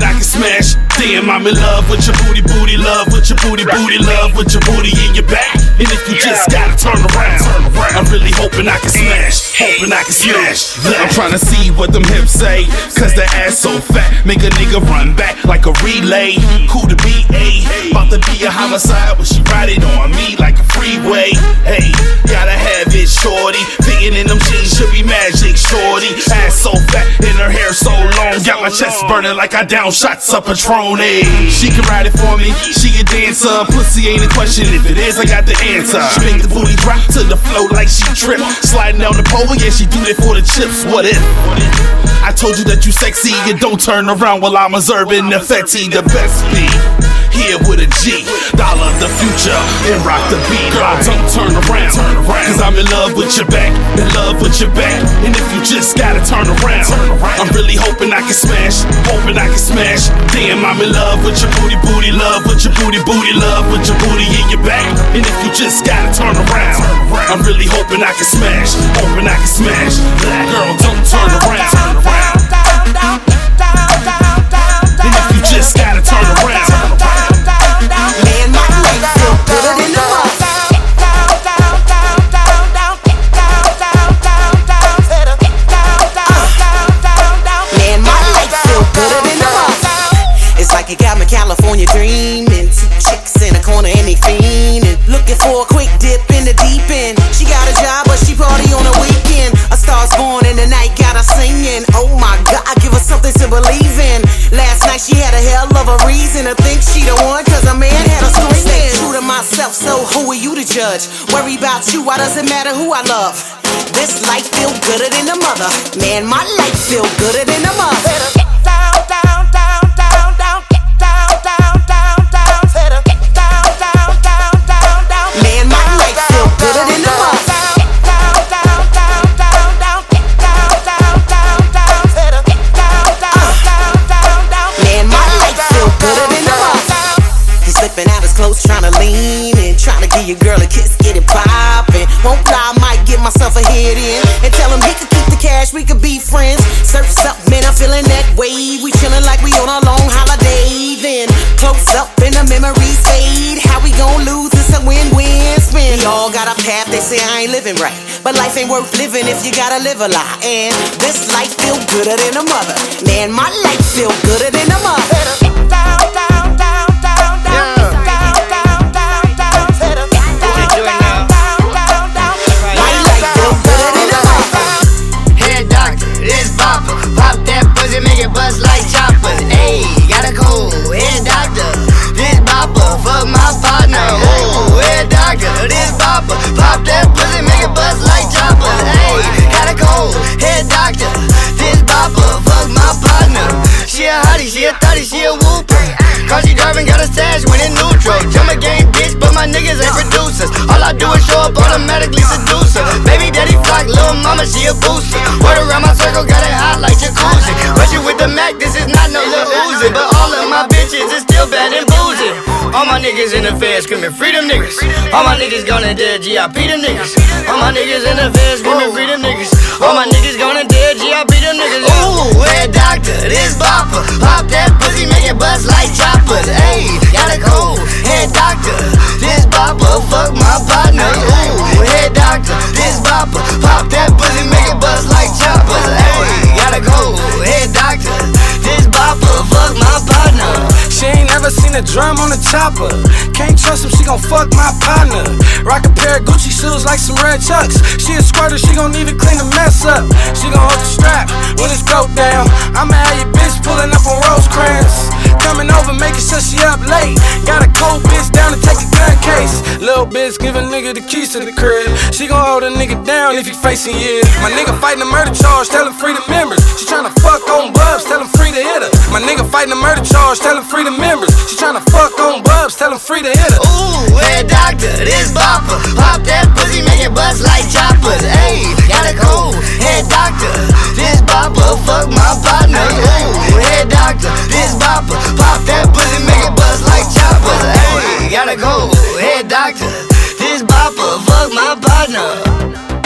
Damn, I'm in love with your booty, love with your booty, love with your booty in your back. And if you just gotta turn around, I'm really hoping I can smash, I'm tryna see what them hips say, cause the ass so fat, make a nigga run back like a relay. Cool to be about to be a homicide when she ride it on me like a freeway. Hey, gotta have it, shorty. Fitting in them jeans should be magic, shorty. Ass so fat and her hair so long, got my chest burning like I down shots of Patron. She can ride it for me, she a dancer. Pussy ain't a question, if it is, I got the answer. She make the booty drop to the floor like she trip. Sliding down the pole, yeah, she do that for the chips. What if? I told you that you sexy, you don't turn around while I'm observing the Fetty, the best beat. Here with a G, dollar the future, and rock the beat. Girl, don't turn around, cause I'm in love with your back, in love with your back. And if you just gotta turn around, I'm really hoping I can smash, Damn, I'm in love with your booty, love with your booty, love with your booty in your back. And if you just gotta turn around, I'm really hoping I can smash, Girl, don't turn around, and if you just gotta turn around, man, my legs feel better than the mother. Man, my legs feel better than the mother. It's like you got me California dreaming. Two chicks in a corner and they fiending, looking for a quick dip in the deep end. She got a job but she party on a weekend. A star's born in the night, got her singing. Oh my God, I give her something to believe in. Last night she had a hell of a reason to think she the one, cause a man had her screaming. Stay true to myself, so who are you to judge? Worry about you, why does it matter who I love? This life feel gooder than the mother. Man, my life feel gooder than the mother. Man, my life feel gooder than the mother. Slipping out his clothes, tryna lean in, tryna give your girl a kiss, get it poppin'. Won't fly, I might get myself a head in and tell him he could keep the cash, we could be friends. Surf's up, man, I'm feeling that wave. We chillin' like we on a long holiday. Then close up and the memories fade. How we gon' lose? It's a win-win spin. We all got a path, they say I ain't living right, but life ain't worth living if you gotta live a lie. And this life feel gooder than a mother. Man, my life feel gooder than a mother. Make it bust like choppers. Ayy, got a cold head doctor. This bopper, fuck my partner. Oh, head doctor, this bopper. Pop that pussy, make it bust like choppers. Ayy, got a cold head doctor. This bopper, fuck my partner. She a hottie, she a thotty, she a whooper. Cause she driving, got a stash when in neutral. Jump a game, bitch, but my niggas ain't producers. All I do is show up automatically seducer. Baby daddy flock, little mama, she a booster. Word around my circle, got it hot like jacuzzi. Rushing with the Mac, this is not no little Uzi. But all of my bitches is still bad and boozy. All my niggas in the feds screaming freedom niggas. All my niggas gonna dead GIP them niggas. All my niggas in the feds screaming freedom niggas. All my niggas gonna dead GIP them niggas. Ooh, head doctor, this bopper. Pop that pussy, make it bust like choppers. Ayy, got a cold head doctor. This bopper, fuck my partner. Ooh, head doctor, this bopper. Pop that pussy, a drum on the chopper. Can't trust him, she gon' fuck my partner. Rock a pair of Gucci shoes like some red chucks. She a squirter, she gon' even clean the mess up. She gon' hold the strap when it's broke down. I'ma have your bitch pulling up on Rosecrans. Coming over, making sure she up late. Got a cold bitch down to take a gun case. Little bitch give a nigga the keys to the crib. She gon' hold a nigga down if he facing years. My nigga fighting a murder charge, tell him free the members. She tryna fuck on Bubs, tell him free to hit her. My nigga fighting a murder charge, tell him free the members. She tryna fuck on Bubs, tell him free to hit her. Ooh, head doctor, this bopper. Pop that pussy, make it bust like choppers. Ayy, got a cold head doctor, this bopper. Fuck my partner. Ooh, head doctor, this bopper. Pop that pussy, make it bust like choppers. Ayy, got a cold head doctor, this bopper. Fuck my partner.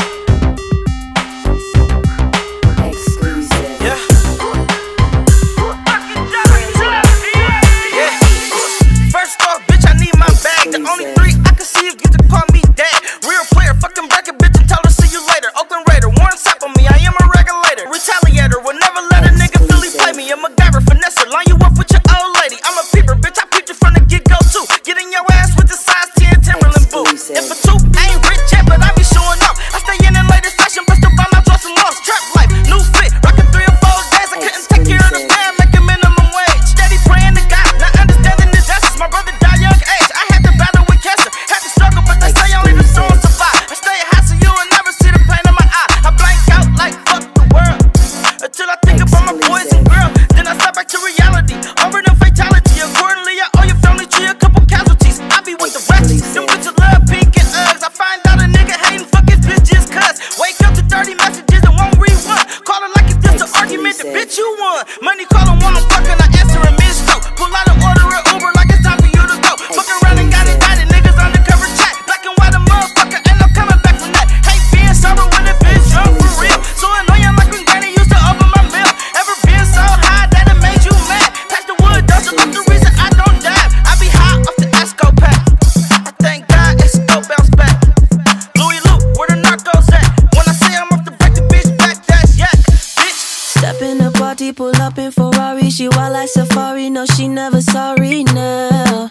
The only three I can see if you can call me dad. Real player, fuck them bracket bitch and tell her see you later. Oakland Raider, Warren Sapp on me, I am a regulator. Retaliator, will never let a nigga Philly play me. I'm a MacGyver, finesse, line you up with your old lady. I'm a peeper, bitch, I peeped you from the get-go too. Getting your ass with the size 10 Timberland boots. If a two, I ain't rich yet, but I be showing up. I stay in the latest fashion, but still buy my drawers and lost. Trap life, new fit, rockin' 3 or 4 days. I couldn't take care of the band, making minimum wage. Steady praying to God, not understanding his essence. My brother died young age, I had to battle with cancer. Had to struggle, but they say only the strong survive. I stay high so you will never see the pain in my eye. I blank out like fuck the world until I think about my boys and girls. Then I step back to reality. Over them fatality. Accordingly, I owe your family tree a couple casualties. I be with the ratchets. Them bitches love pink and Uggs. I find out a nigga hating fuck his bitch just cuz. Wake up to 30 messages and won't read one. Call it like it's just an argument. The bitch you won. Money calling while I'm fucking. I answer a mid-stroke. Pull out and order an Uber like it's time for you to go. Fuck around and got it. Niggas undercover chat. Black and white a motherfucker. And I'm coming back from that. Hate being sober when it bitch drunk for real. So annoying like when Granny used to open my milk. Ever been so high that it made you mad? Pass the wood, that's the reason I don't dab. I be high off the Esco pack. I thank God Esco bounce back. Louis Luke, where the narcos at? When I say I'm off the break the bitch back, that's yak, bitch. Step in the party, pull up in Ferrari. She wild like Safari, no she never sorry now.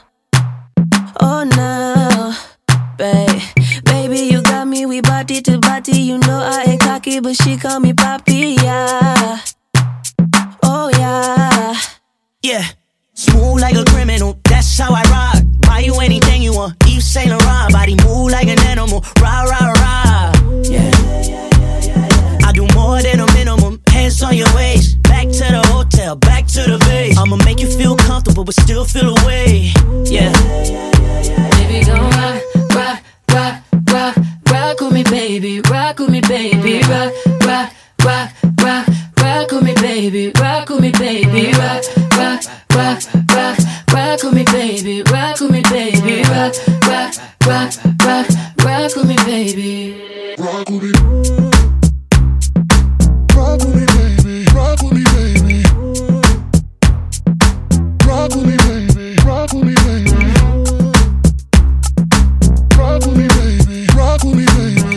Oh no, baby, you got me, we body to body. You know I ain't cocky, but she call me papi, yeah. Oh yeah, yeah. Smooth like a criminal, that's how I rock. Buy you anything you want, Yves Saint Laurent. Body move like an animal, rah, rah, rah. Yeah, I do more than a minimum. Hands on your waist, back to the hotel, back to the base. I'ma make you feel comfortable, but still feel away. Yeah. Baby, gon' rock, rock, rock, rock, rock with me, baby, rock with me, baby, rock, rock, rock, rock, rock with me, baby, rock with me, baby, rock, rock, rock, rock, rock with me, baby, rock with me, baby, rock, rock, rock, rock, rock with me, baby, rock with me, rock with me, baby, rock with me, baby, rock with me, baby, rock with me, baby. Rock with me, baby. Rock with me, baby.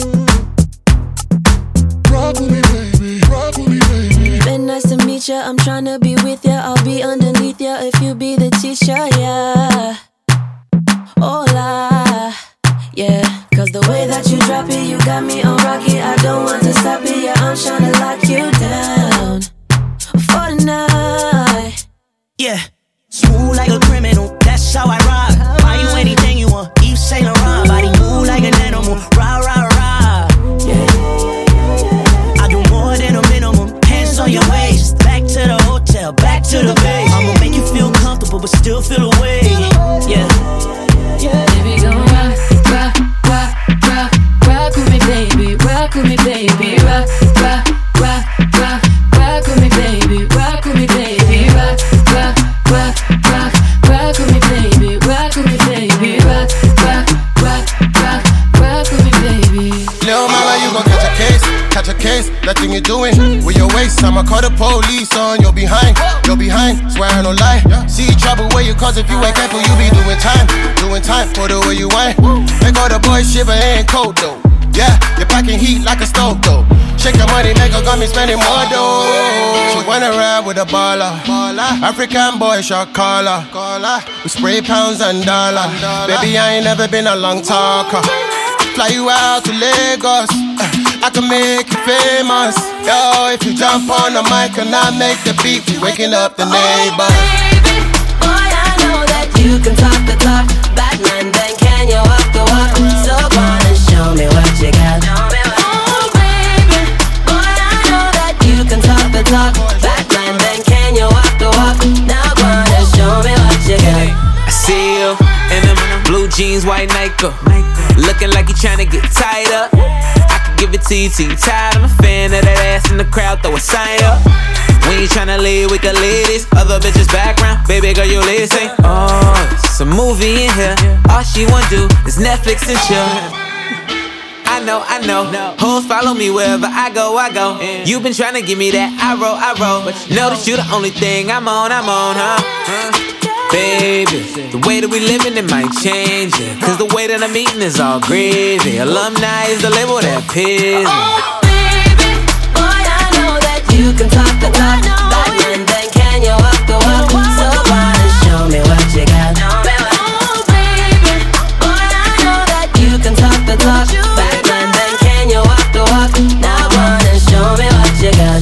Rock with me, baby. Rock with me, baby. Been nice to meet ya. I'm tryna be with ya. I'll be underneath ya if you be the teacher, yeah. Hola, yeah. Cause the way that you drop it, you got me on rocky. I don't want to stop it, yeah. I'm tryna lock you down for the night, yeah. Smooth like a criminal, that's how I rock. Buy you anything you want, Yves Saint Laurent. Body move like an animal, rah, rah, rah. Yeah. I do more than a minimum. Hands on your waist, back to the hotel, back to the base. I'ma make you feel comfortable, but still feel away. Yeah. Baby, gon' rock, rock, rock, rock, rock with me, baby, rock with me, baby, rock, rock, rock, rock, rock with me, baby, rock with me, baby, rock, rock, rock, rock, rock with me, baby, rock with me, baby, rock, rock, rock, rock, rock with me, baby. Little mama, you gon' catch a case, that thing you're doing with your waist. I'ma call the police on your behind, swear I don't lie. See trouble where you cause if you ain't careful, you be doing time for the way you whine. Make all the boys shiver, ain't cold though. Yeah, you're packing heat like a stove though. check the money maker, got me spending more dough. She wanna ride with a baller. African boy, shot caller. We spray pounds and dollar. Baby, I ain't never been a long talker. Fly you out to Lagos, I can make you famous. Yo, if you jump on the mic and I make the beat, we waking up the neighbors. Baby, boy, I know that you can talk the talk. Batman, then can you walk the walk? So go on and show me what you got. Oh, baby, boy, I know that you can talk the talk. Batman, then can you walk the walk? Now go on and show me what you got. I see you in them blue jeans, white Nike, looking like you tryna get tied up. I could give it to you till you tired. I'm a fan of that ass in the crowd, throw a sign up. When you tryna leave, we can leave this other bitches background. Baby girl, you listen. Oh, it's a movie in here. All she wanna do is Netflix and chill. I know. Hoes follow me wherever I go. You been tryna give me that I roll. But you know that you the only thing I'm on, huh? Baby, the way that we living, it might change it. Cause the way that I'm eating is all gravy. Alumni is the label that pays me. Oh, baby, boy, I know that you can talk the talk. Batman, then can you walk the walk? So go on and show me what you got. Oh, baby, boy, I know that you can talk the talk. Batman, then can you walk the walk? Now go on and show me what you got.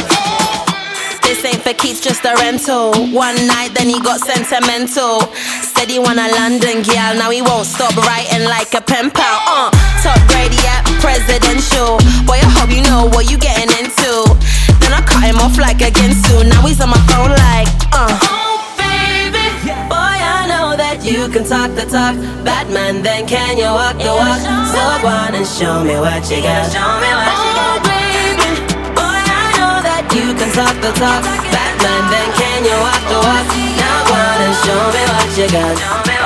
This ain't for Keith, just a rental. One night, then he got sentimental. Said he want a London gal, now he won't stop writing like a pen pal. Top grade, yeah, presidential. Boy, I hope you know what you getting into. Then I cut him off like a Ginsu. Now he's on my phone like, Oh, baby, boy, I know that you can talk the talk. Batman, then can you walk the walk? So go on and show me what you got. Oh, baby, boy, I know that you can talk the talk. Batman, then can you walk the walk? Now go on and show me what you got.